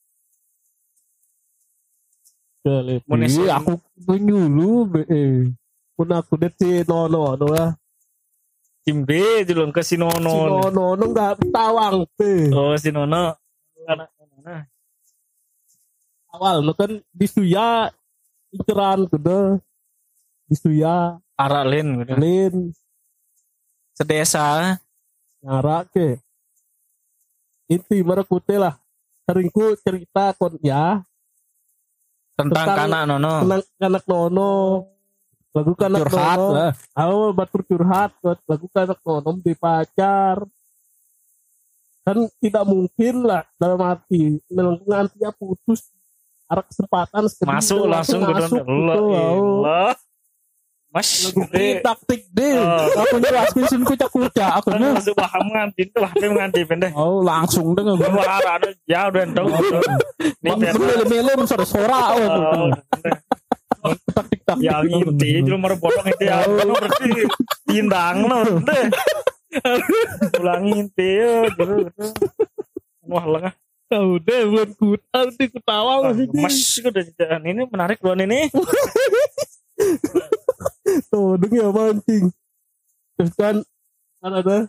Kali. Mun S M A. Iya, aku penyulu eh. Pun aku det si Nono no ya. Tim B dulu ke Si Sinono. Nono no enggak tawang teh. Oh Sinono. Anak mana? Awal no kan di Suya inceran kudu. Di Suya Aralin gitu. Lin Sedesa. nyara ke. Inti merekute lah. Seringku cerita kon ya Tentang, Tentang- kanak nono. tentang anak Nono. Lagu kanak Curhat Nono. lah. Aku batur curhat buat lagu kanak Nono di pacar. Kan tidak mungkin lah dalam arti nanti ya putus ada kesempatan sekali Masuk udah langsung ke masuk dalam. gitu. Allah. Mas. Lagu gede. taktik deh. Oh. Aku jelaskan sini kucak-kucak aku Kan nih. masuk paham ngantin tuh H P ngantin pendek. Oh, langsung deh gue. Wah ada ya udah tahu. Nih Mele-mele sore sora Oh, tak-tak. yang inti cuma merebotong itu ya kan berarti tindang no deh ulang inti ya gitu gitu wah lengah Tahu deh bulan kutal di ketawa masih mas udah ini menarik loh ini tuh deng ya mancing. Terus kan kan ada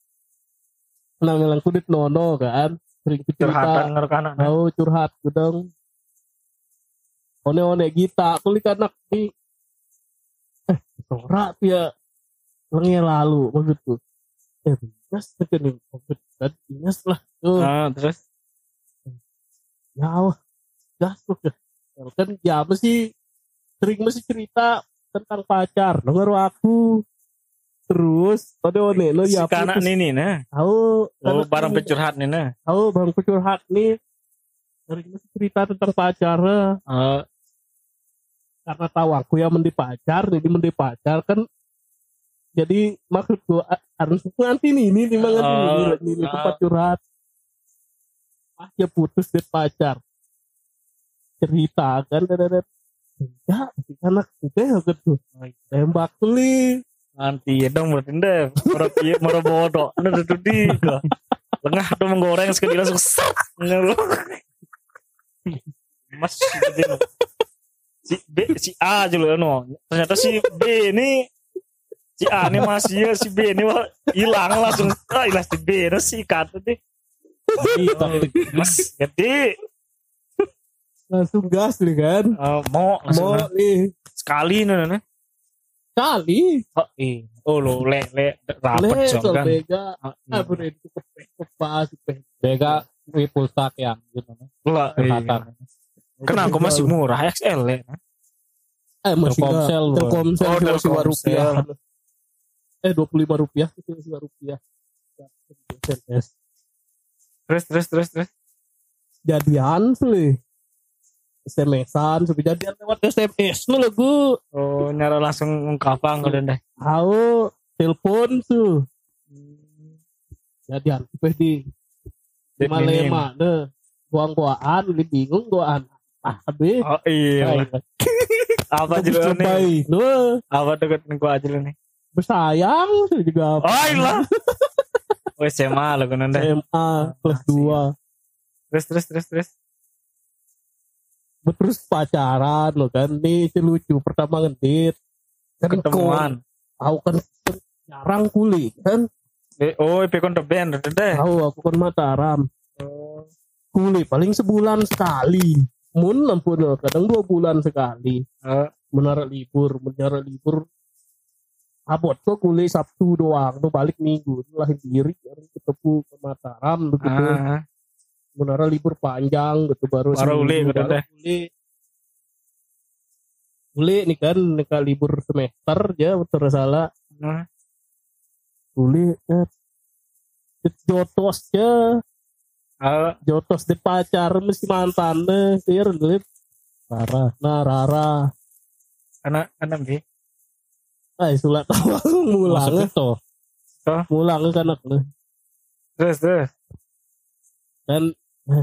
nang kudit Nono kan sering cerita curhatan ngerekanan tahu curhat gudang one-one kita kulit anak di eh sorak ya lengi lalu maksudku eh bias kan nih covid dan bias lah tuh ah terus ya wah gas loh kan ya mesti sering mesti cerita tentang pacar denger aku terus one-one lo si ya kanak putus ini nah tahu oh anak barang ini. pencurhat nih nah tahu bang curhat nih sering mesti cerita tentang pacar oh karena tahu aku yang mendi pacar jadi mendi pacar kan jadi maksudku a- harus nganti nih ini memang nganti Oh, ini, ini, ini ah. tempat curhat pas dia putus dari pacar cerita kan dan ya si anak juga gitu tembak beli nanti ya dong berarti deh merep merep bodoh ada tuh di lengah tuh menggoreng sekali langsung set mas gitu. Si B si A aja loh no ternyata si B ini si A ini masih ya si B ini wah hilang langsung ah hilang si B ini si kata deh mas gede langsung gas nih kan Eh, mau langsung mau nah. nih sekali nih nih kali oh iya oh lo le le rapet le jong soal kan bega Ah, ah iya. bener itu kepas Bega pulsa yang gitu. Lah, iya. Curhatan. Kenapa aku masih murah X L ya? eh masih Telkomsel, nggak- Telkomsel Oh, masih dua Telkomsel. rupiah eh dua puluh lima rupiah itu masih dua rupiah Terus terus terus terus. jadian sih S M S-an sampai jadian lewat S M S nu lagu Oh nyara langsung ngkapang udah deh. tahu telepon tuh jadian sampai di Dek lima minim. lima deh buang buaan lebih bingung buaan ah habis Oh iya. Apa aja lu nih? nu Apa deket nih gua aja lu nih? bersayang sih juga Oh iya. Oh S M A lu kan deh. S M A kelas dua Terus terus terus terus. terus pacaran lo kan nih si lucu pertama ngedit kan Ketemuan. tahu kan jarang kuli kan Eh, Oh P kon band udah deh. tahu aku kan Mataram Oh. kuli paling sebulan sekali mun ampun kadang dua bulan sekali Oh. menara libur menara libur abot kok kuli Sabtu doang tuh balik Minggu lah diri ketemu ke Mataram gitu Ah. menara libur panjang gitu baru Baru uli, seminggu, udah baru deh. uli uli nih kan nih libur semester ya betul salah Nah. uli eh, jotos ya Oh. jotos di pacar mesti mantan deh sir lip Parah. nah Rara Anak anak B. ay sulat awang mulang Masuk itu. mulang kan anak lu Terus terus. dan eh,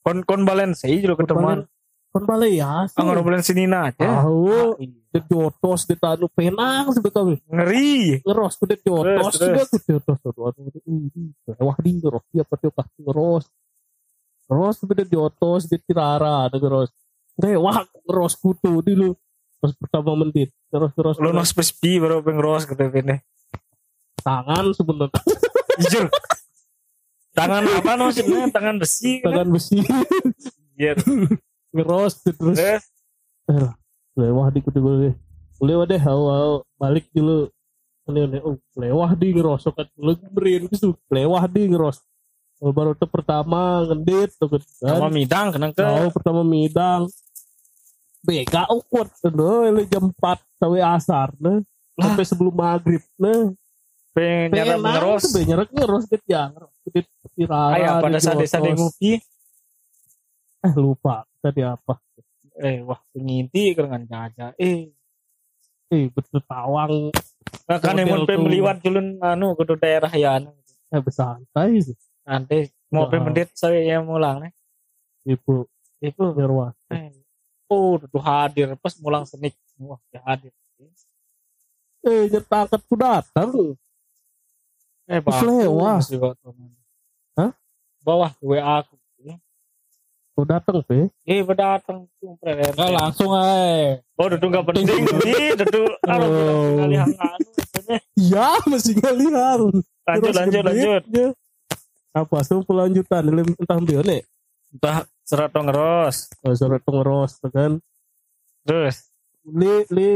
Kon kon Balensi juga ketemuan. Kon balai ya. Anggar Balensi Nina aja. Tahu. De jotos de tanu penang sebetulnya. Ngeri. Ngeros kudet jotos Terus, sudah kudet jotos. Aduh, ini wah di ngeros dia pakai pas ngeros. Ngeros kudet jotos di Tirara ada ngeros. Wah ngeros kutu dulu. Pas pertama menit. Ngeros ngeros. Lu nos pespi baru pengros gitu ini. Tangan sebenarnya. Jujur. Tangan apa maksudnya? Tangan besi. Tangan besi. Iya. Ngeros terus. Eh, Eh, lewah di kudu gue. Lewah deh, awal balik dulu. Ini oh, lewah di ngeros kan lu berin gitu. Lewah di ngeros. Oh, baru tuh pertama ngendit tuh kan. sama midang kenang ke. Oh, pertama midang. Bega ukut tuh, lu jam empat sampai asar nah. Sampai sebelum maghrib nah. Pengen nyarap ngeros. Nyerap ngeros gitu ya. Kudet Tirara. Ayah pada saat desa ngopi. Eh lupa tadi apa. Eh wah penginti kerengan caca. Eh Eh betul tawang. nah, kan Hotel emang tuh. pemeliwat julun anu ke daerah ya anu. Eh bersantai sih. Nanti mau Ya. pemendit saya yang mulang nih. Ibu Itu Ngerwa. eh, oh tuh hadir pas mulang senik. Wah dia hadir. Eh nyetaket ku datang. Eh Terus lewah. Hah? Bawah W A aku. Ku datang pe. Eh berdatang tuh Enggak preler. langsung aja. Oh duduk gak penting nih, duduk anu Oh. kali hang anu. maksudnya. Iya masih ngalihan. Lanjut Terus lanjut lanjut. gedenya. Apa sih pelanjutan dalam entah bione. Entah serat ngeros. Oh surat pengeros kan. Terus Li li.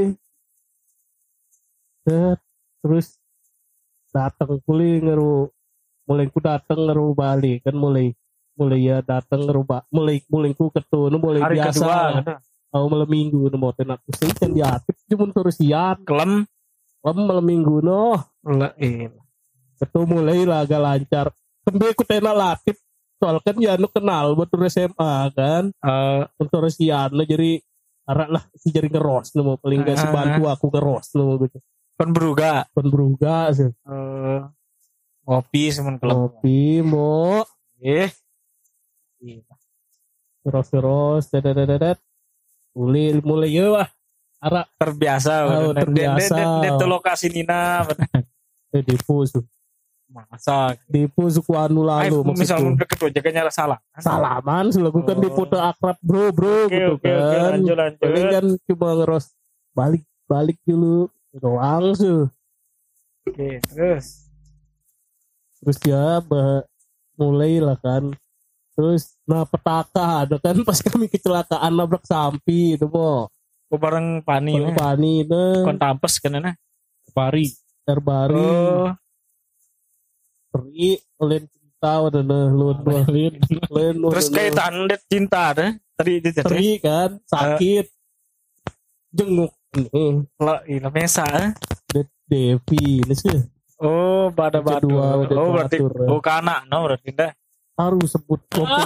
Set. Terus datang kuli ngeru mulai ku datang ngeru Bali kan mulai mulai ya datang ngeru ba- mulai mulai ku ketu nu mulai hari biasa. kedua gitu. Aku malam minggu nu mau tenak ku sih kan diatip cuma terusian. Kelem. Lem malam minggu no. Lah eh. Ketu mulai lah agak lancar. Sampai ku tenak latip. Soal kan ya nu kenal buat S M A kan. Eh, Untuk resian nu jadi arak lah si jadi ngeros nu mau paling gak Ah. si bantu aku ngeros nu gitu. kan beruga. Kon beruga sih. Eh, ngopi semen kelem. Kopi mau Eh. Iya. terus-terus dedet mulai mulai ya wah arak Terbiasa. Oh, bener. terbiasa. Det- det- det- det lokasi Nina. bener. eh dipu su Masa. dipu suku anu Ay, lalu misal maksudku deket aja nyala salah. salaman selaku kan Oh. dipoto akrab bro bro Oke gitu oke oke kan lanjut lanjut. paling kan cuma ngeros balik balik dulu doang su Oke terus. terus ya bah, mulai lah kan terus nah petaka ada kan pas kami kecelakaan nabrak sampi itu mo Aku bareng Pani. Bang nih. Pani itu Kon tampes kan nah. Pari. terbari Oh. Peri, len cinta udah nah lu len len Terus kayak tandet cinta deh. Tadi itu tadi. Peri kan sakit jenguk nih Lah ini mesa. eh. De- Devi ini sih Oh, pada batu. Kedua, udah Oh, berarti teratur, ya. oh kana no berarti dah. harus sebut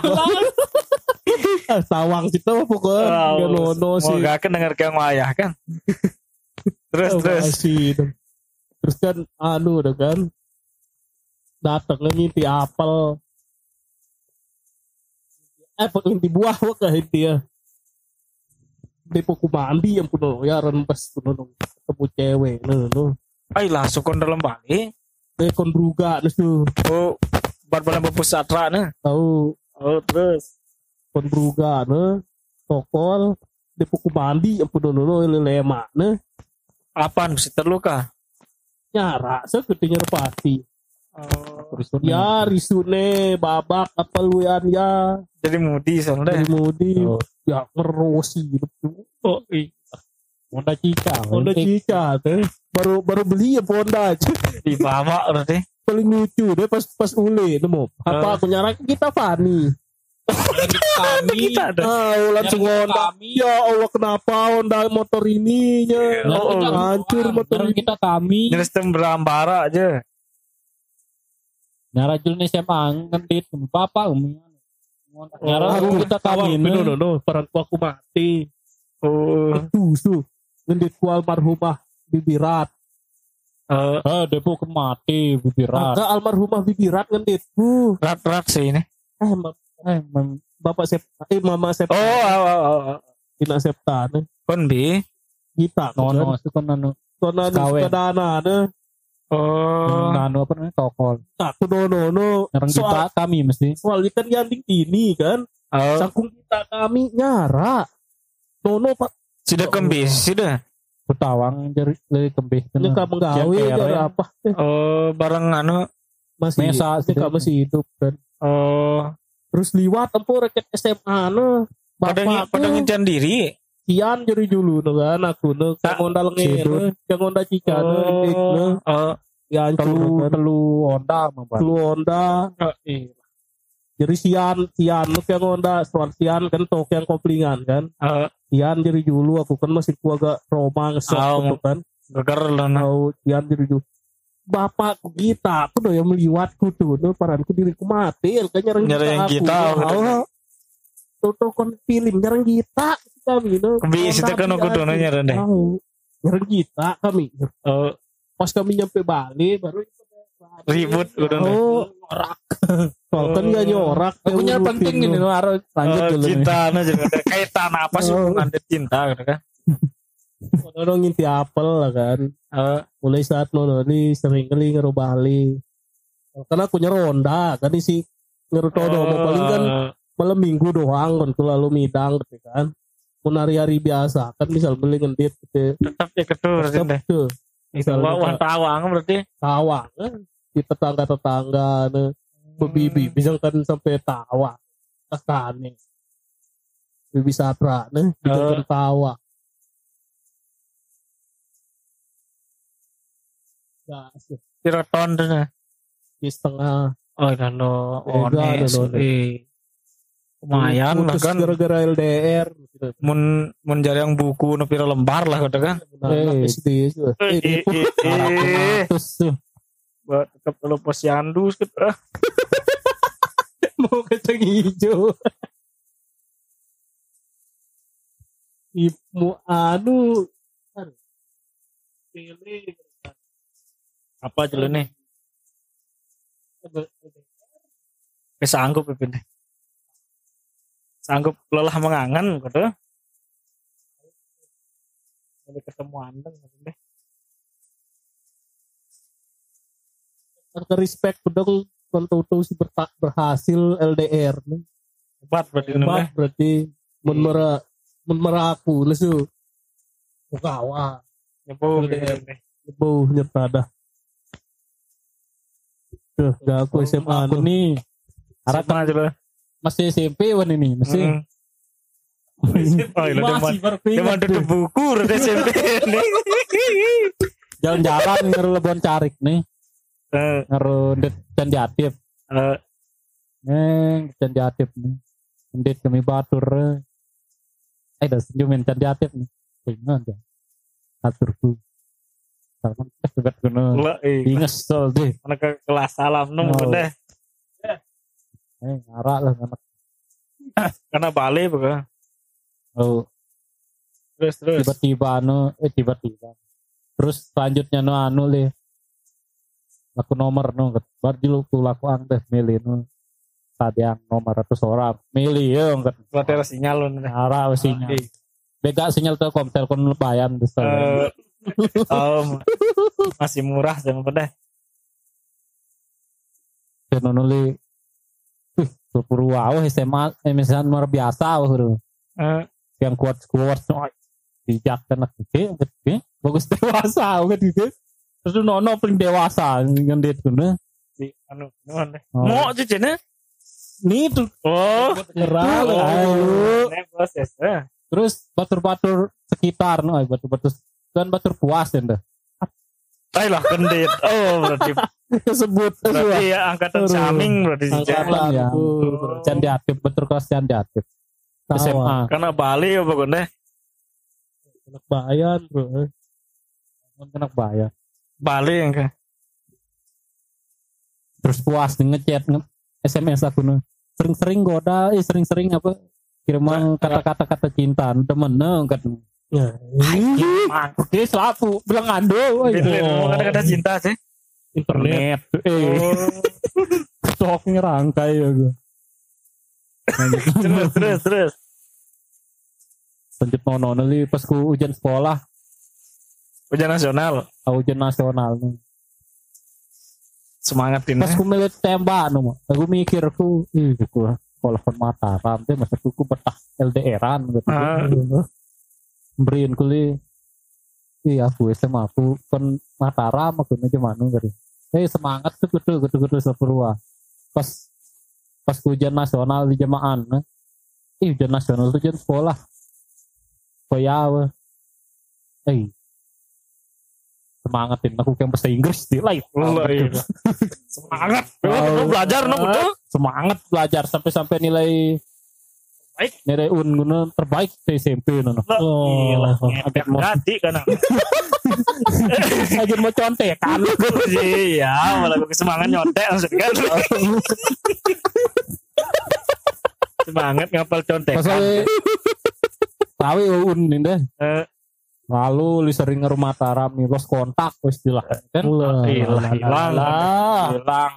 Ah, sawang kita mah pokoknya nggak nono sih Mau gak kan denger kayak wayah kan. terus Oh, terus. masih. Terus kan anu udah kan datang ngimpi apel eh ngimpi buah wah kah dia Depo ku mandi yang puno ya rembes puno ketemu cewek no no Ay langsung kon dalam balik. dekon bruga nesu Oh, bar-bar pusat ra nah. tahu Oh, terus. kon bruga ne tokol depo ku mandi yang puno no lelema ne Apaan mesti terluka? nyara segede pasti Oh, ya risune babak apa luan ya jadi mudi soalnya. dari mudi Oh. ya ngerosi gitu Oh, iya. Honda Cica. Honda Cica teh baru baru beli ya Honda aja Di bawah berarti. paling lucu deh pas pas ule nemu apa aku nyarak kita Fani Kami. Kita ada. ah langsung Nyari Honda kami. ya Allah kenapa Honda motor ini nya Oh, oh, hancur motor Nyara ini kita kami. Nyestem berambara aja. Nyara jul nih saya ngentit papa umi. Nyara aku kita kami. no no no peranku aku mati Oh, tuh su ngendit ku almarhumah Bibirat eh Ah, depo kemati bibirat. agak almarhumah Bibirat ngendit ku rat-rat sih ini. eh ma- Eh, mem- bapak Septa, eh mama Septa. Oh, oh, oh, oh. Ina Septa ne. Kon bi. Kita Nono itu kan anu Kona Sekawen. kadana ne. Oh. anu apa namanya tokol. Aku nono no. Nyerang Soal kita kami mesti. soalnya kan yanting ini kan. Oh. Sangkung kita kami nyara. Nono pak. Sudah kembis, sudah. Betawang jadi lebih kembih. Ini kamu menggawe Yang cara kere. apa? Eh, Oh, bareng anu. masih Mesa, ini kamu masih hidup kan. Oh. Terus liwat tempo rakyat S M A ne. Pada Bapak pada ngincan diri. Kian jadi dulu no kan aku no. Tak, Yang ondal ngene. Yang ondal cica ne. Indik ne. Oh. Kian Telu curu kan. telu onda mah. Lu onda. Oh, iya. Jadi sian, sian lu yang onda, soal sian kan tok yang koplingan kan. Oh, Sian jadi dulu aku kan masih ku agak Roma ngesok Oh. gitu kan. geger lo nah. Tahu sian jadi dulu. Bapakku kita, aku udah yang meliwatku tuh, tuh paranku diriku mati, kan nyerang Nyerang kita, aku. betul. Oh, tuh tuh kon film nyerang kita kami no. Kembis itu kan aku dono nyerang deh. Tahu. Nyerang kita kami. Oh, Pas kami nyampe Bali baru ribut udah. Oh, nyorak. Soal kan gak nyorak. Aku punya yang penting rutin, ini no. no harus lanjut Oh, dulu. nih. cinta nah juga ada kaitan apa sih Oh. hubungan dengan cinta gitu kan. Orang nginti apel lah kan. Oh, Mulai saat nono ini sering kali ngeru Bali. Karena aku nyeronda kan isi ngeru todo mau paling kan malam minggu doang kan tuh lalu midang gitu kan. Mau hari-hari biasa kan misal beli ngendit gitu. tetap ya ketur Tetep deh. tuh Itu wan tawang berarti. tawang kan di tetangga-tetangga ne bebibi bisa kan sampai tawa tekane. Bibi Satra ne bisa Oh. kan tawa. Gas Pira ton tuh nah. di setengah Oh, dano Beda, ones. dano. Eh. Lumayan lah putus kan. gara-gara L D R gitu. Mun mun jarang buku nu pira lembar lah gitu kan. Anak Eh. S D itu. Eh, Eh, eh, eh. Terus tuh Buat tetap lu posyandu gitu. Ah. mau kacang hijau. Ibu anu anu, pilih Apa dulu nih? Bisa sanggup Pipin deh. Sanggup lelah mengangan gitu. Jadi ketemu andeng gitu deh. ke respect pedang kontutu si bertak berhasil L D R nih. Hebat berarti ini Hebat mah. berarti menmera menmera aku lesu. Bukawa. Nyepo L D R. gitu deh. Ibu nyerta dah. Tuh, gak aku S M A aku nih. nih harap Siapa aja lo? masih S M P wan ini masih. Mm. Oh, iya, deman. Masih baru Deman ingat tutup tuh. buku udah S M P nih. Jalan-jalan ngeru Lebon Carik nih. Eh, Ngeru Ndet Candi Atip. eh, Neng Candi Atip nih. Ndet kami batur. Eh dah senyumin Candi Atip nih. Ingat ya. Aturku. Sama sebet kuno. Lah, eh, Ingat sol deh. anak ke kelas salam nung Oh. udah. Eh ngarak lah anak. Karena Bali bukan. Oh, Terus terus. tiba-tiba anu eh tiba-tiba. Terus selanjutnya no anu le. Laku nomor no baru dulu ku laku angdes milih no. Tadi yang nomor ratus orang milih ya enggak Buat ada sinyal lu nih. arah sinyal. Bega sinyal Telkom, Telkom lumayan besar. Eh, oh, masih murah jangan pada. Dan nuli sepuluh wow S M A emisan luar biasa wah. Eh, Yang kuat kuat bijak anak gede gede bagus dewasa kan gitu. Terus nono paling dewasa ngendit kuno. di anu nuan deh. Oh. Mau cucinya? Nih tuh Oh, gerang oh, ayo. nek proses. Eh. Terus batur-batur sekitar no ay, batur-batur kan batur puas ya ndah. Ayolah kendit. Oh, berarti Kesebut berarti ya angkatan Aduh. saming berarti sih. Angkatan ya. Aku. Candi Atip betul kelas Candi Atip. S M A. Karena Bali ya pokoknya. Anak bayan bro. Kena bayar. Bali yang ke. Terus puas nih ngechat nge S M S aku nih. Sering-sering goda, eh sering-sering apa kiriman kata-kata kata cinta temen no kan. Ya. Oke, selapu bilang ando. Mau kata-kata cinta sih. Internet. Eh, Oh, stok ngerangkai ya gue. terus terus terus. Lanjut nono nih pas ku ujian sekolah, Ujian nasional. ah, ujian nasional nih. Semangat ini. Pas ku milih tembak no, aku mikir aku, ih aku sekolah kon Mataram teh masa ku betah L D R-an gitu. Ah. Beriin kuli, iya aku S M A aku kon Mataram aku nih mana gitu. Eh semangat tuh gitu gitu gitu sepurwa. Pas pas ujian nasional di jemaah, ih ujian nasional itu ujian sekolah. Koyawa, eh semangatin aku kayak bahasa Inggris di live. Oh, iya. Semangat. Oh, belajar no betul. Semangat belajar sampai-sampai nilai baik, nilai un guna terbaik di S M P no. Oh, agak mau ganti kan. agak mau contekan. Iya, malah gue semangat nyontek langsung kan. Semangat ngapal contekan. Pasal tahu un ini deh. Eh, Lalu li sering ngerumah Mataram nih los kontak istilah kan. hilang hilang hilang.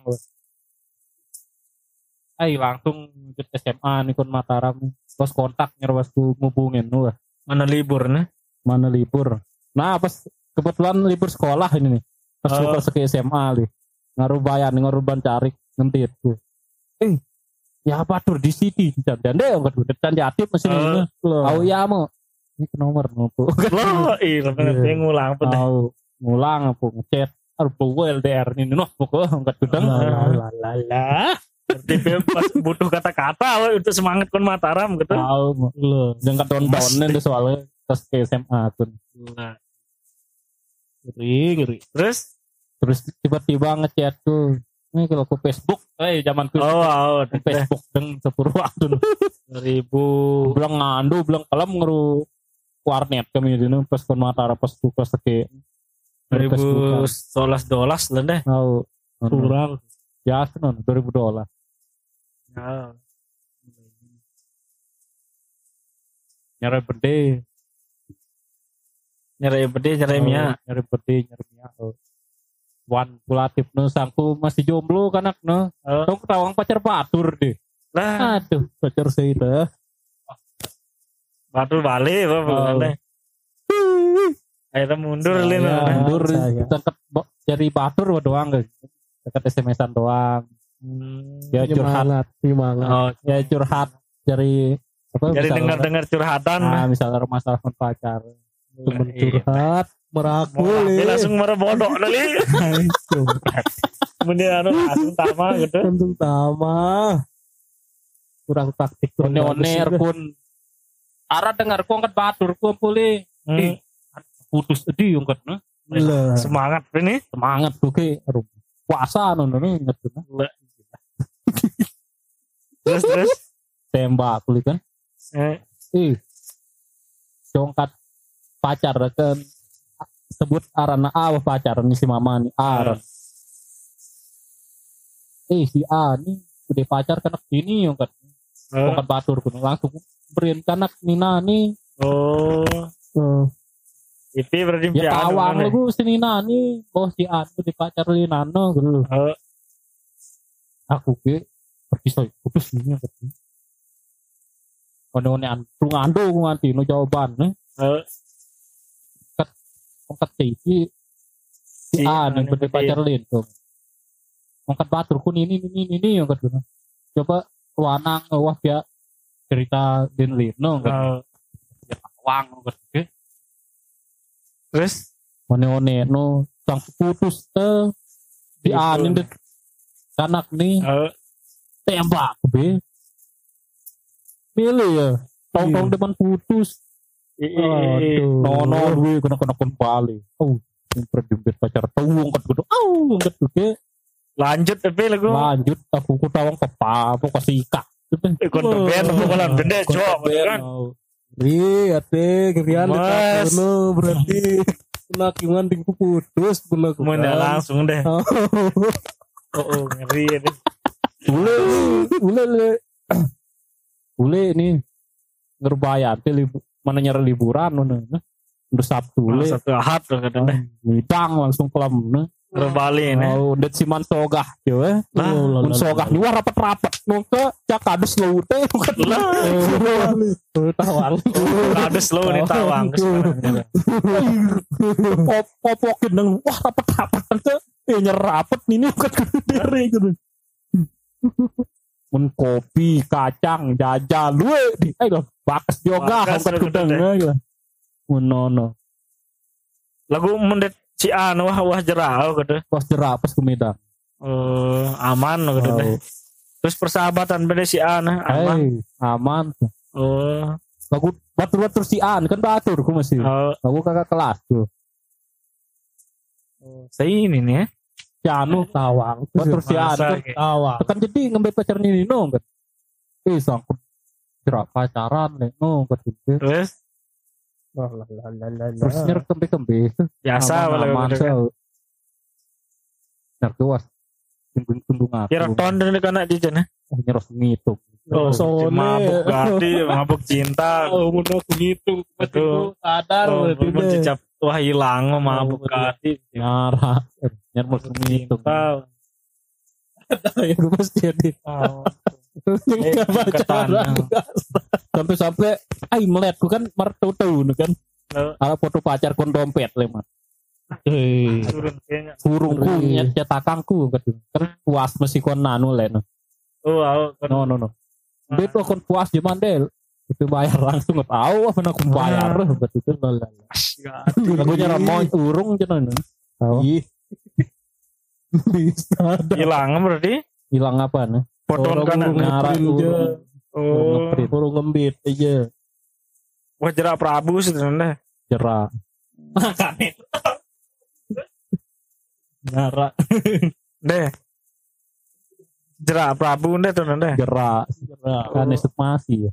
Ay langsung ke S M A nih kon Mataram los kontak nyerwas ku ngubungin lu mana libur nih? mana libur. Nah pas kebetulan libur sekolah ini nih pas Oh. libur ke S M A nih ngaruh bayan ngaruh ban cari ngentit tuh. Eh ya apa tuh di City dan dan deh nggak udah dan jatip mesin ini. Tahu ya mau ini ke nomor nopo. Lo iya bener ngulang pun deh. Tahu ngulang apa ngechat harus bawa L D R ini noh pokoknya nggak tudang. Lalala. Berarti pas butuh kata-kata lo untuk semangat kon Mataram gitu. Tahu lo jangan down-downin deh soalnya pas ke S M A pun. Nah, Ngeri, ngeri. terus Terus tiba-tiba ngechat tuh. Ini kalau ke Facebook, eh zaman ke oh, oh ke Facebook deng sepuluh waktu ribu bilang ngandu bilang kalem ngeru warnet kami di pas kon Mataram pas buka seke dua ribu sebelas dolas lah deh. tahu Kurang. ya non dua ribu dolar Ya. nyari berde Nyari pede, nyari mia. nyari berde nyari mia wan kulatif no sangku masih jomblo kanak no Oh. tong ketawang pacar batur deh Lah, aduh Pacar saya dah. batu balik apa Oh. bukannya. Akhirnya mundur Saya- lin. mundur saya. deket bo- jadi batur doang guys deket S M S-an doang Hmm. ya curhat Semangat, semangat. Oh, ya curhat dari apa jadi misalnya- dengar-dengar curhatan. nah misalnya masalah sama pacar Temen Iya. curhat, Mau merangkul. ambil ya. langsung marah bodoh kali. Kemudian anu langsung tama gitu. Untung tama. Kurang taktik. kurang one-one bagus. pun arah dengar ku angkat batur ku pulih Hmm. putus di angkat nah. Lah. Semangat ini. Semangat tuh ke aduh, puasa nono nih inget tuh nah. Terus terus. Tembak pulih kan Eh, ih congkat pacar kan sebut arana A pacar nih si mama nih aran eh si A nih udah pacar kanak ini angkat oh. angkat batur ku langsung beriin kanak Nina nih Oh. Oh. Itu berarti ya pian, tawang bener. lu si Nina nih oh si A tuh dipacar Linano gitu Oh. aku ke pergi soy putus nih angkat one-one antu ngandu nganti no jawaban nih Oh. angkat si si Si A nih anu udah gede. pacar Lin tuh angkat batur ku ini ini ini angkat gitu coba luanang wah dia cerita Din Lino angkat Oh. wang angkat ke Terus one-one no sang putus teh si A nih deh kanak nih oh. tembak be milih ya tong-tong depan putus I- i- i- Aduh. nono gue kena kena kembali oh jempret jempret pacar tuung kat gitu oh kat gitu lanjut tapi lagu lanjut aku ku tawang ke apa ke sikak ikut band bukan benda cok kan. Ri, ate, kerian Mas. dekat kono berarti kena kiman tingku putus pernah Kemudian langsung deh. Oh, Oh, oh ngeri ini. boleh boleh boleh ini ngerbayar teh libu, mana nyari liburan mana udah Sabtu Oh, le satu ahad tuh katanya. midang langsung kelam nah Bali ini. Oh, det siman sogah yo eh. Lah, Mun sogah ni wah rapet-rapet nongke cak kadus lu teh bukan lah. Tawang. Kades lo nih tawang. Pop popokin nang wah rapet-rapet teh. Eh nyerapet ini bukan gede gitu. Mun kopi, kacang, jajal lu di eh loh bakas yoga Bakas bukan lu gudang gede. gitu. Mun nono. Lagu mendet si anu wah wah jerau gitu. Pas jerak pas kumidang. Eh aman gitu deh. Oh. Terus persahabatan beda si anu aman. Hey, aman. Oh. Lagu batur-batur si An kan batur ku masih. Oh, Lagu kakak kelas tuh. saya ini nih ya. Si Anu Tawang. batur si An Masa, kan. kayak. Tawang. Kan jadi ngambil pacar Nino kan. Eh sangkut jerak pacaran nih no kan. Terus Lah lah lah lah lah. Terus nyer kembe-kembe. biasa aman kalau gitu kan. Nyer tuas. Tunggu tunggu ngaku. Kira ton dari kana jajan ya. Nyeros ngitung. Oh, sone. mabuk gati, mabuk cinta. Oh, mun aku ngitung Betul. betul sadar Oh, berarti mun deh. cicap wah hilang mabuk betul. gati. Nyara. Nyer mus ngitung. Cinta. Ya gue pasti jadi. Oh. Enggak Eh, baca ketan. Sampai-sampai ai melihat ku kan martu-tu kan. Lalu, Ada foto pacar kon dompet lemah. Eh, turun kayaknya. Burungku Ngeri. nyet cetakangku kan. Kan puas mesti kon nanu len. Oh, aku kan. No no no. Beto kon puas di mandel. Itu bayar langsung nggak tahu apa nak bayar betul kan. Lagunya ramon urung cenah. Tahu. ih. Bisa ada. Hilang berarti. Hilang apa nih? Foto Orang kanan. burung Nyara ngeprint aja. urung. Oh, Ngeprint. Burung ngembit aja. wah jerak Prabu sebenarnya. Jerak. Nara. Deh. Jerak Prabu deh tuh deh. Jerak. Kan estimasi ya.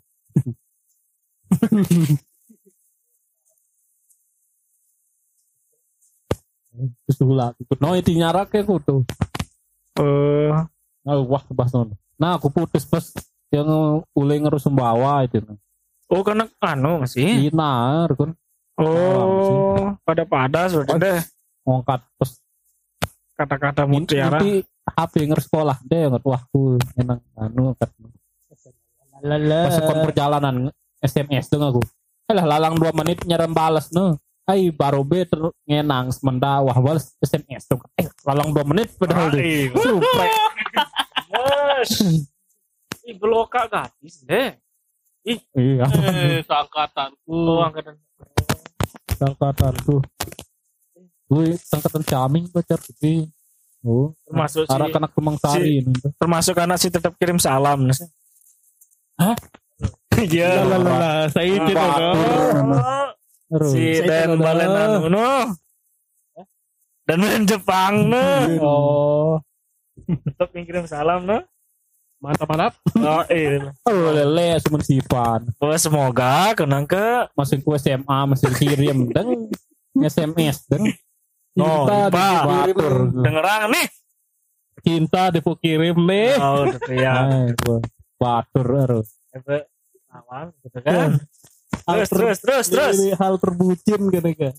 Terus ulah. No itu nyarak ya aku tuh. Oh, Oh, wah bahas nono. Nah aku putus pas yang ulai ngerus bawa itu. oh karena anu masih. Inar kan Oh, pada pada sudah deh. ngangkat pas Kata-kata mutiara. Nanti H P ngerus sekolah deh ngerti waktu enang anu kan. Lala. Pas kon perjalanan S M S dong aku. Alah lalang dua menit nyerem balas no. Ai baru be ter ngenang semenda wah balas S M S dong. Eh lalang dua menit padahal deh. Ai, Supre. Mas. Ih, beloka gratis deh. Iya. Eh, seangkatanku. Oh, angkatan. Angkatan tuh. Gue angkatan caming pacar gede. Oh, Termasuk si, arah kanak Kemang Sari ini. termasuk anak si tetap kirim salam. Hah? Iya. Lah lah lah lah. Saya itu dong. Terus. Si Saya Dan tahu. Balenan no. Dan main Jepang no. Oh, Tetap kirim salam no. Mantap mantap. Oh, iya. oh lele semen sipan. Oh, semoga kenang ke Masih ku S M A masih kirim dan S M S dan Oh, cinta Pak. dibatur. dengeran nih. Cinta dipu kirim nih. Oh, ya. Ay, gua batur harus. Efek aman gitu kan. Terus terus terus terus. Ini hal terbucin kan kan.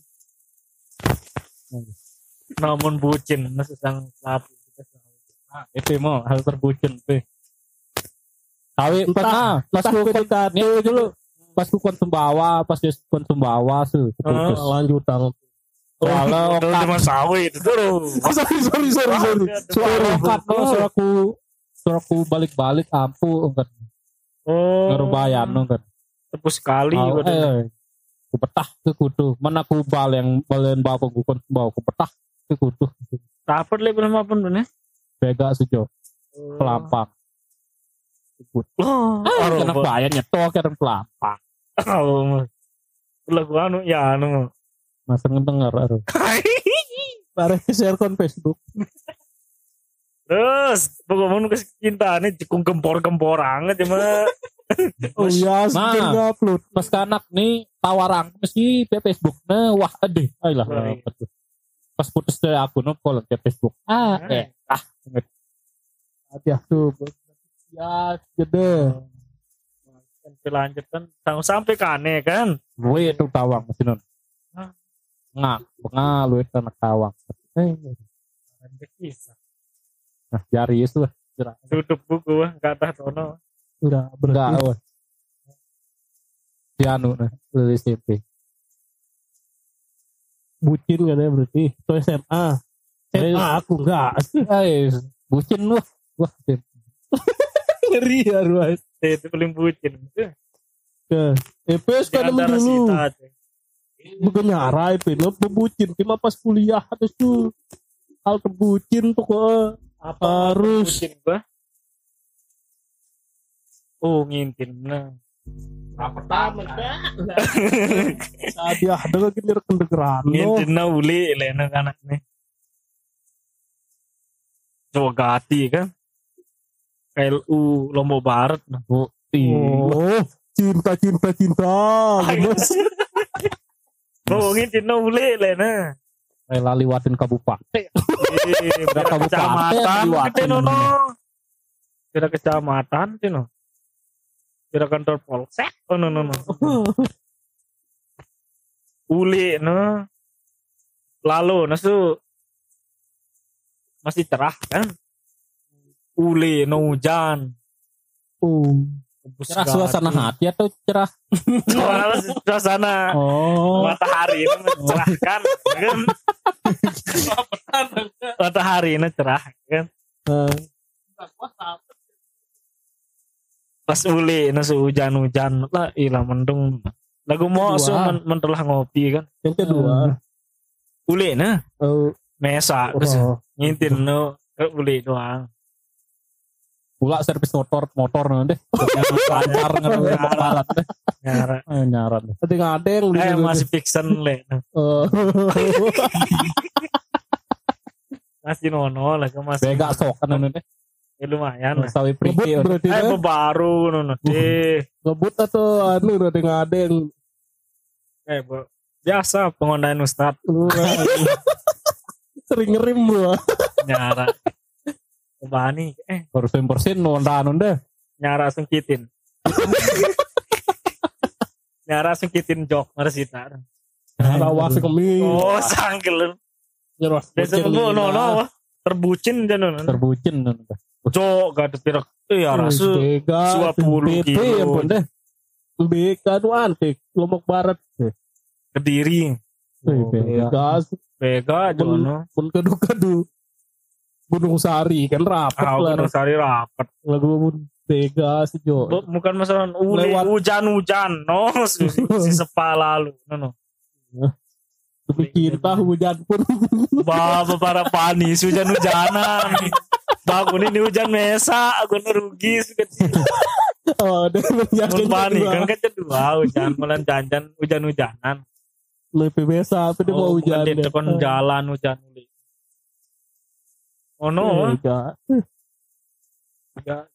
Namun bucin sedang lapu. Nah, itu mau hal terbucin tuh. Tahu pas nah, pas ku kon P D K T dulu. Pas ku kon Sumbawa, pas dia kon Sumbawa tuh. Putus. lanjutan. Soalnya Itu cuma sawit itu tuh. Sorry sorry sorry sorry. Soalnya okat no, soalnya aku soalnya aku balik-balik ampu enggak Oh. ngerubayan enggak. Tepus sekali. Oh, waduh. eh, ku betah ke kutu. Mana ku bal yang balen bapak ku kon bawa ku betah ke kutu. Dapat le belum apa pun ya. Bega sejo, pelampang. Ikut. Oh. Ah, kena bayar nyetok kan pelampang. Oh. Lagu anu ya anu. Masa ngedenger aduh. Bareng share kon Facebook. Terus pokoknya ke cinta nih cekung gempor-gempor anget cuma. Oh iya, Nah. sudah upload. Pas kanak nih tawarang mesti di Facebook nah wah adeh ayolah Baik. pas putus dari aku no call ke Facebook ah eh ah Hati tuh. Ya, gede. Sampai lanjut kan tanggung sampai kane kan. gue itu tawang masih non Hah? ngak bengal lu itu anak tawang eh Bisa. Nah, jari itu jerah. Tutup buku wah, enggak tahu tono. Enggak, Enggak, berarti wah. Si anu nah, lulus S M P. bucin katanya berarti. Itu S M A. S M A aku enggak. Eh, bucin wah. Wah, bucin. Ngeri ya Ruas. Itu paling bucin. Ke E P S Di kan antara dulu. sita tuh. Bukan nyara E P S bebucin. Cuma pas kuliah terus tuh hal kebucin tuh kok harus Bucin gua. Oh, ngintin. Nah. pertama kan. Tadi ada lagi rekan-rekan. Ngintin na uli le anak-anak nih. Coba gati kan. K L U Lombok Barat. Oh, iya. Oh, cinta cinta cinta. Oh, ngintin na uli le na. Rela liwatin kabupaten. Kira kabupaten kecamatan liwatin. gitu no. Kira kecamatan gitu no. Kira kantor polsek. Oh no no no. Uli no. Lalu nasu masih cerah kan. Uli no hujan. Oh, Cerah suasana hati atau cerah? Soalnya suasana Oh. matahari ini mencerahkan kan. Matahari ini cerah kan. eh, Pas uli nasu hujan-hujan lah ilah mendung. Lagu mau so Kedua. men, mentelah ngopi kan. yang kedua. Uli nah Oh, mesa terus oh. ngintin no ke uli doang. Pula servis motor motor nanti. Lancar ngerusak barat deh. Nyara. Eh, nyaran deh. Tadi nggak ada yang Eh dulu. masih fiction le. Oh. Masih nono lah kan masih. Bega sok kan nanti. Ya, lumayan lah. Sawi Ngebut priki. berarti Eh kan? baru nono deh. Ngebut atau anu udah nggak ada yang Eh bu. Biasa pengondaan ustad sering ngerim gua. nyara. Bani eh Persen persen nonda nonda. nyara sengkitin. Nyara sengkitin jok marsita. Rawasi kami. Oh sanggel. Nyeros. Desa no no no. Terbucin jangan no. Terbucin nonda. Jok gak ada pirak. Eh ya rasu Bega. dua puluh B P kilo. ya pun deh. Bega nu antik. Lombok Barat. Kediri. Oh, Bega. Bega jono. Pun kadu-kadu. Gunung Sari kan rapat Ah lah. Gunung Sari rapat. Lagu pun Bega sejo. Bu- Bukan masalah uli Lewat. hujan-hujan no si, si sepa lalu no no. Demi cinta hujan pun. Bapak para panis hujan-hujanan. Bangun ini hujan mesa, aku rugi sekecil. Oh, ada yang Mun panik kan kedua hujan mulan janjan hujan-hujanan. lebih biasa apa dia mau Oh, hujan. bukan di depan jalan hujan uli. Oh no, Bega. enggak.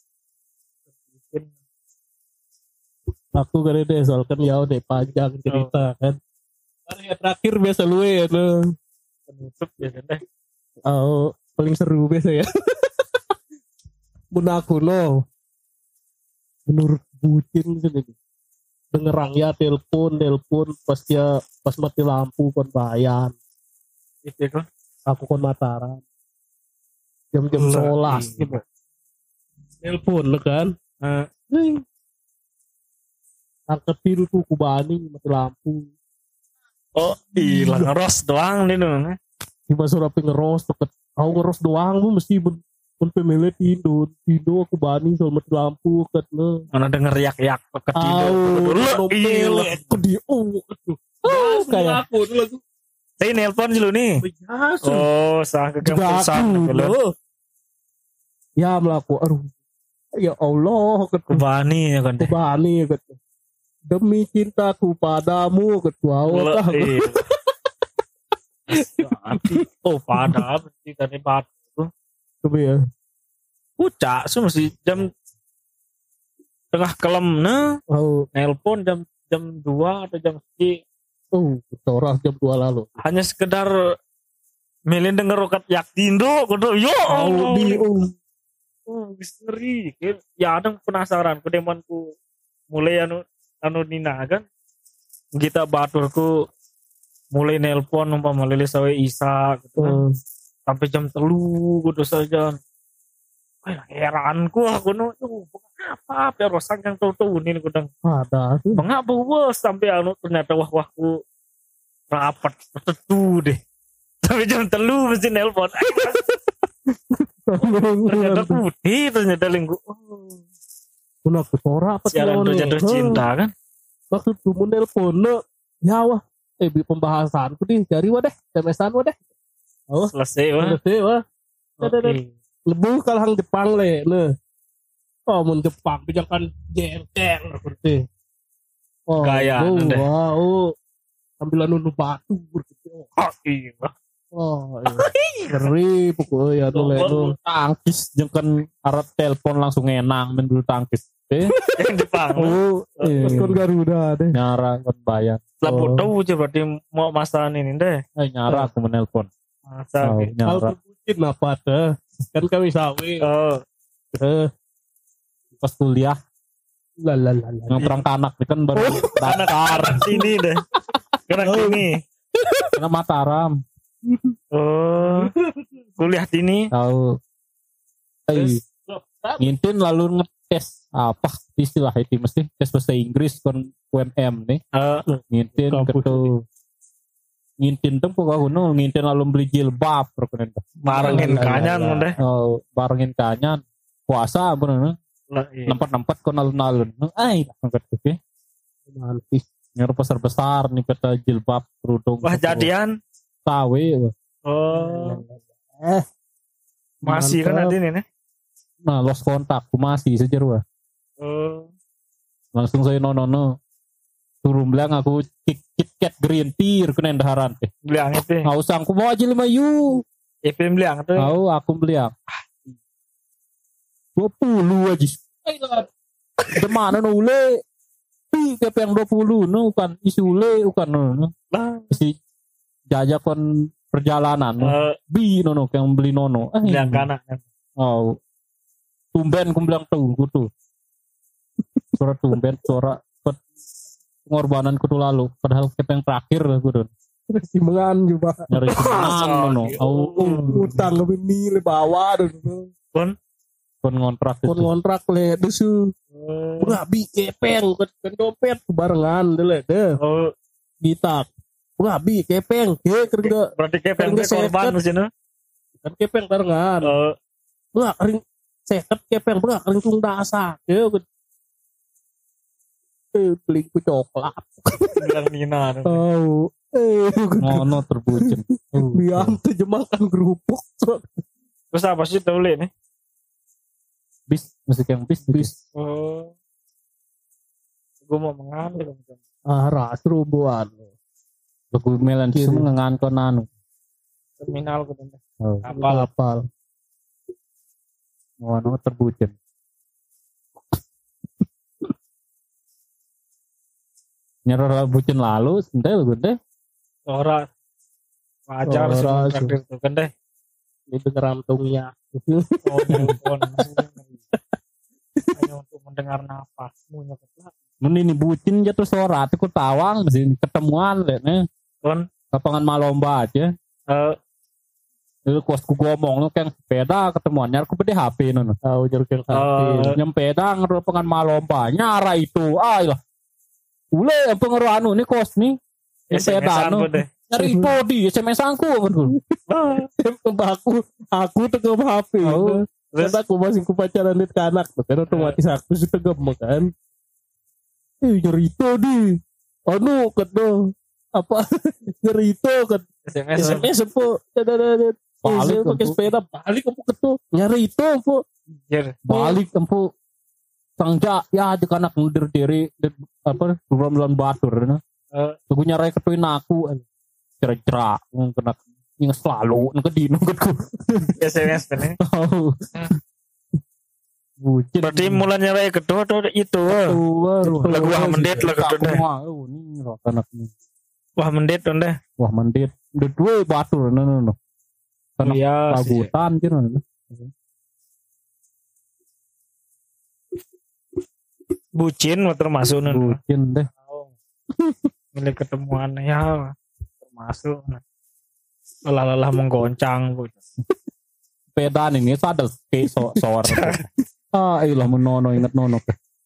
Aku kan deh soal kan ya udah panjang cerita kan. Karya terakhir biasa lu ya no. Penutup biasa deh. Oh, paling seru biasa ya. Mun aku no. Menurut bucin kan ini. Dengerang ya telepon, telepon pas dia pas mati lampu kon bayar. Itu kan. Aku kon Mataram. Jam-jam Lah, sebelas iya. gitu. Telepon lo kan. Eh, Nih. Angkat biru tuh kubani mati lampu. oh, hilang ros doang nih no. Tiba suruh api ngeros deket. Aku ngeros doang lu mesti pun pun pemilik tidur. Tidur aku bani soal mati lampu ket lo. Mana denger yak-yak ketidur. Au, Iya. aku di oh, oh kayak aku dulu. Saya nelpon dulu nih. Biasa. Oh, sah ke Juga kampus aku loh. Ya melaku, aduh. Ya Allah, ket Kebani ya kan deh. kubani ket. Demi cintaku padamu ketua Lo- Allah. iya. Oh, pada berarti dari batu. Tapi ya. Pucak, so mesti jam tengah kelem nah, Oh, nelpon jam jam dua atau jam segi. oh, orang jam dua lalu. Hanya sekedar melin denger rokat yak tindo kudu yo Oh, di oh. oh misteri ya ada penasaran kedemanku mulai anu anu nina kan kita baturku mulai nelpon umpama lele sawe Isa gitu kan. Oh, sampai jam telu kudu saja. Wah, heranku aku no, tuh apa apa rosak yang tahu tahu ini kudang. Ada sih. Mengapa bos sampai anu ternyata wah wahku rapat tertentu deh. Sampai jam telu mesti nelpon. Ternyata putih ternyata lingku. Oh. Kuna kesora apa Siaran tuh jatuh cinta kan? Maksud gue menelpon no, ya wah, eh bi pembahasanku nih dari wadah, S M S-an wadah. Oh, Selesai wah. selesai wah. Oke. Lebu kalau hang Jepang le, ne. Oh, mun Jepang pijakan jengkeng seperti. Oh, Gaya, oh, nende. wow. Sambilan nunu batu berarti. Oh, iya. Oh, iya. Ngeri pokoknya anu le Oh, nu. Tangkis jeung kan arep telepon langsung enang men dulu tangkis. Eh, Yang Jepang. Oh, eh, kon Garuda deh. nyara kan bayar. Lah Oh. tahu aja berarti mau masalah ini deh. Eh nyara aku menelpon. Masa Oh, gitu. Hal nyara. terbucin apa tuh? Kan kami sawi. Oh, Eh, Pas kuliah la la la la. nongkrong kanak kan baru daftar sini deh. Kena sini. kena Mataram. Oh, kuliah sini. Tahu. Eh, ngintin lalu ngetes apa istilah itu mesti tes bahasa Inggris kon U M M nih. Eh, Ngintin Kampus gitu. Ngintin tuh pokoknya kuno ngintin lalu beli jilbab perkenen. marengin Lah, lah, kanyan lah. deh. Oh, barengin kanyan puasa bener Lah, iya. nempat-nempat kon alun-alun. Ai, nangkat oke. Mantis. Nyer besar-besar nih kata jilbab kerudung. Wah, jadian. Tawe. Oh, Eh, masih kan mantap. ada ini nih. Nah, lost kontak, aku masih sejar wah. Oh, Langsung saya nono turun bilang aku kit KitKat green tea kena daharan teh. beliang itu. Nggak usah aku mau aja lima yu. I P M beliang tuh. Tahu aku beli yang dua puluh aja. Gimana nu ule? Ih, kayak yang dua puluh nu kan isi ule bukan nu. Lah, Si jajak kon perjalanan nu. eh, Bi nono yang beli nono. Eh, beliang kanan. Oh. Tumben aku bilang tuh gitu. Suara tumben suara pet- pengorbanan kudu lalu padahal kita yang terakhir kudu Timbangan juga. nyari semangan nono. Oh, oh. Utang lebih milih bawa dan Pun. kon ngontrak kon itu. ngontrak le desu. Oh, Udah bi kepeng kan dompet barengan deh le deh. oh, Gitak. Udah bi kepeng ke kerja berarti kayak Kan pengen dia korban seket. di sini. kan kepeng barengan. Oh, Udah kering seket kepeng udah kering tung dasa. Ke eh beli ku coklat. beliang Nina. Oh, eh Ngono terbucin. Oh, biang tuh jemakan kerupuk. Terus apa sih tahu le nih? bis musik yang bis bis. Oh, gue mau mengambil. Ah, ras rubuhan. Lagu melan Kiri. semua ngan kon anu. Terminal gue tuh. Oh, Kapal. Kapal. ngono terbucin. Nyerah bucin lalu, sentai lu deh. Ora wajar sih Ora, traktir tuh kan deh. Itu kerantungnya. Oh, nelpon. Hanya untuk mendengar nafasmu nyokot. Mun ini bucin jatuh sorat aku tawang sini ketemuan le nih. Kon, Lapangan malomba aja. eh, Itu kosku ngomong lu kan sepeda ketemuan nyar aku bede H P nono. Tahu jeruk Eh, Nyempeda lapangan malomba nyara itu. Ah lah. Ule yang pengaruh anu ini kos nih. Nyempeda S M S-an anu. gue deh. Nyari body S M S aku kan. aku aku tegem H P. Oh. Terus aku masih ku pacaran di anak, kan otomatis aku sih tegem kan. Eh nyerito di. Anu kedo apa nyerito kan S M S. S M S po. Dadadadad. Balik, Eh, pakai Empu. sepeda balik aku kedo nyerito po. Anjir. Balik empu. Sangja ya di kanak ngedir diri apa bulan-bulan batur nah. Eh, Aku nyarai ketuin aku cerak-cerak kena yang selalu nang kedino ketku. S M S kan ya. Tahu. Bucin. Berarti mulanya raya kedua tuh itu. Lagu wah mendit lagu Aku tuh deh. mah oh ini roh anak ini. Wah mendit tuh deh. Wah mendit. Udah dua batur no no no. Karena Iya sih. ragutan gitu no. Bucin mah termasuk nih. Bucin deh. Milik ketemuan ya termasuk. lelah-lelah menggoncang. Sepeda ini sadel ke so sor. Ah, ilah menono ingat nono.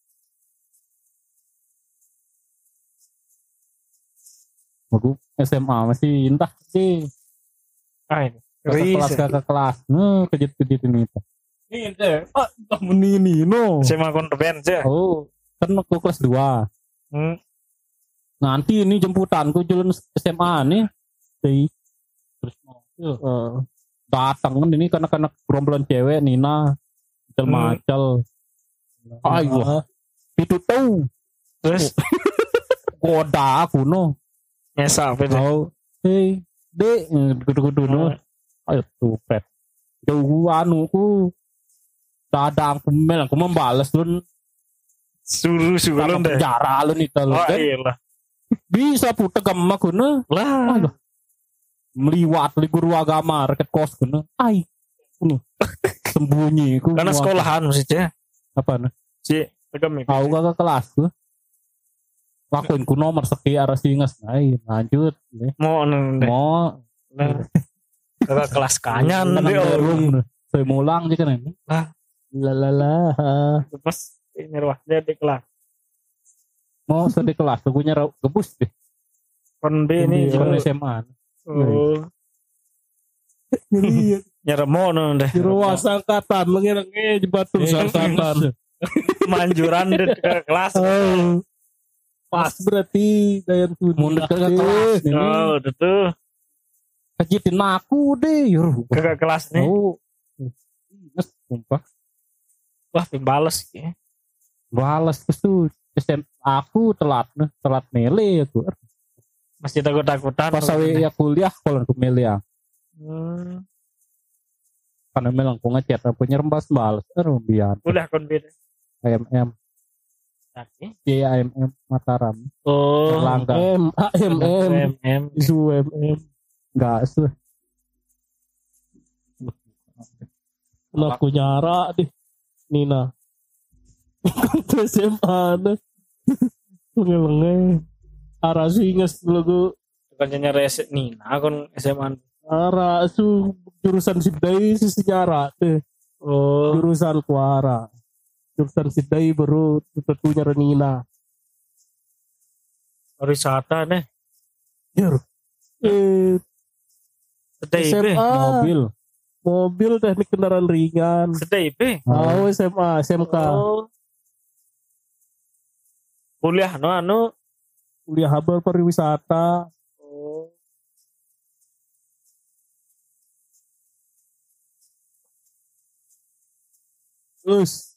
Aku S M A masih entah sih. Ah ini. Kakak kelas Riset. kakak kelas. Nah, kejut-kejut ini. Ini deh. Ah, ini ini no. Saya mau konten aja. Oh, kan aku kelas dua. Hmm. Nanti ini jemputanku jalan S M A nih. Dari terus mobil. Eh, Datang kan ini karena-karena gerombolan cewek Nina. Macel-macel. Ayo. Itu tuh. Terus Goda aku no. nyesap itu. Oh, hey, dek, kudu-kudu no. Ayo tuh, pet. Jauh anu ku. Dadang aku mel, aku membalas lu. Suruh suruh Sama deh. penjara lu nih kalau Oh kan. iya lah. Bisa putar gemak ku no. Lah. Ayo. Meliwat li guru agama reket kos ku no. Ay. Kuno. Sembunyi ku. Karena sekolahan maksudnya. Apa no? Si tegam itu. Aku kakak kelas ku. Lakuin ku nomor sekian arah singas. Ay, lanjut. Mau neng deh. Mau. Nah. Kakak kelas kanyan Tenang deh. derung. Saya mulang aja kan ini. Lalala. Pas ini ruah jadi kelas. Mau sedih kelas, aku nyerap gebus deh. Kon B ini Iya. Kon juga. S M A. Oh. Jadi Nyerap mau neng deh. ruas angkatan lengi-lengi di batu angkatan. Manjuran deh ke kelas. Oh. Pas berarti Dayan Sudi. Mundur ke kelas ini. Oh, udah tuh. Kejitin aku deh. Yuruh. Kakak kelas nih. Oh. Mas, sumpah. Wah, pimbales ya. Balas terus tuh. S M aku telat nih, telat mele aku. Masih takut-takutan. Pas awe ya kuliah kalau aku mele ya. Hmm. Karena memang aku ngechat aku nyerembas balas. Aduh biar. Udah kon B. A M M. Tadi. Iya A M M Mataram. Oh. Erlangga. M A M M M M. Isu M M. Enggak sih. Nah, aku nyara deh Nina. Ke S M A deh. Lengi-lengi. Arah singas dulu Bukannya nyari S- Nina kon S M A. arah su jurusan Sidai si sejarah tuh. Oh. Jurusan Kuara. Jurusan Sidai baru tentunya Renina. Wisata deh. Jur. Eh, Sedai S M B. A Mobil. mobil teknik kendaraan ringan. Sedai B. Oh, S M A, S M K. Oh. Kuliah no anu. Kuliah Habar pariwisata. Oh. Terus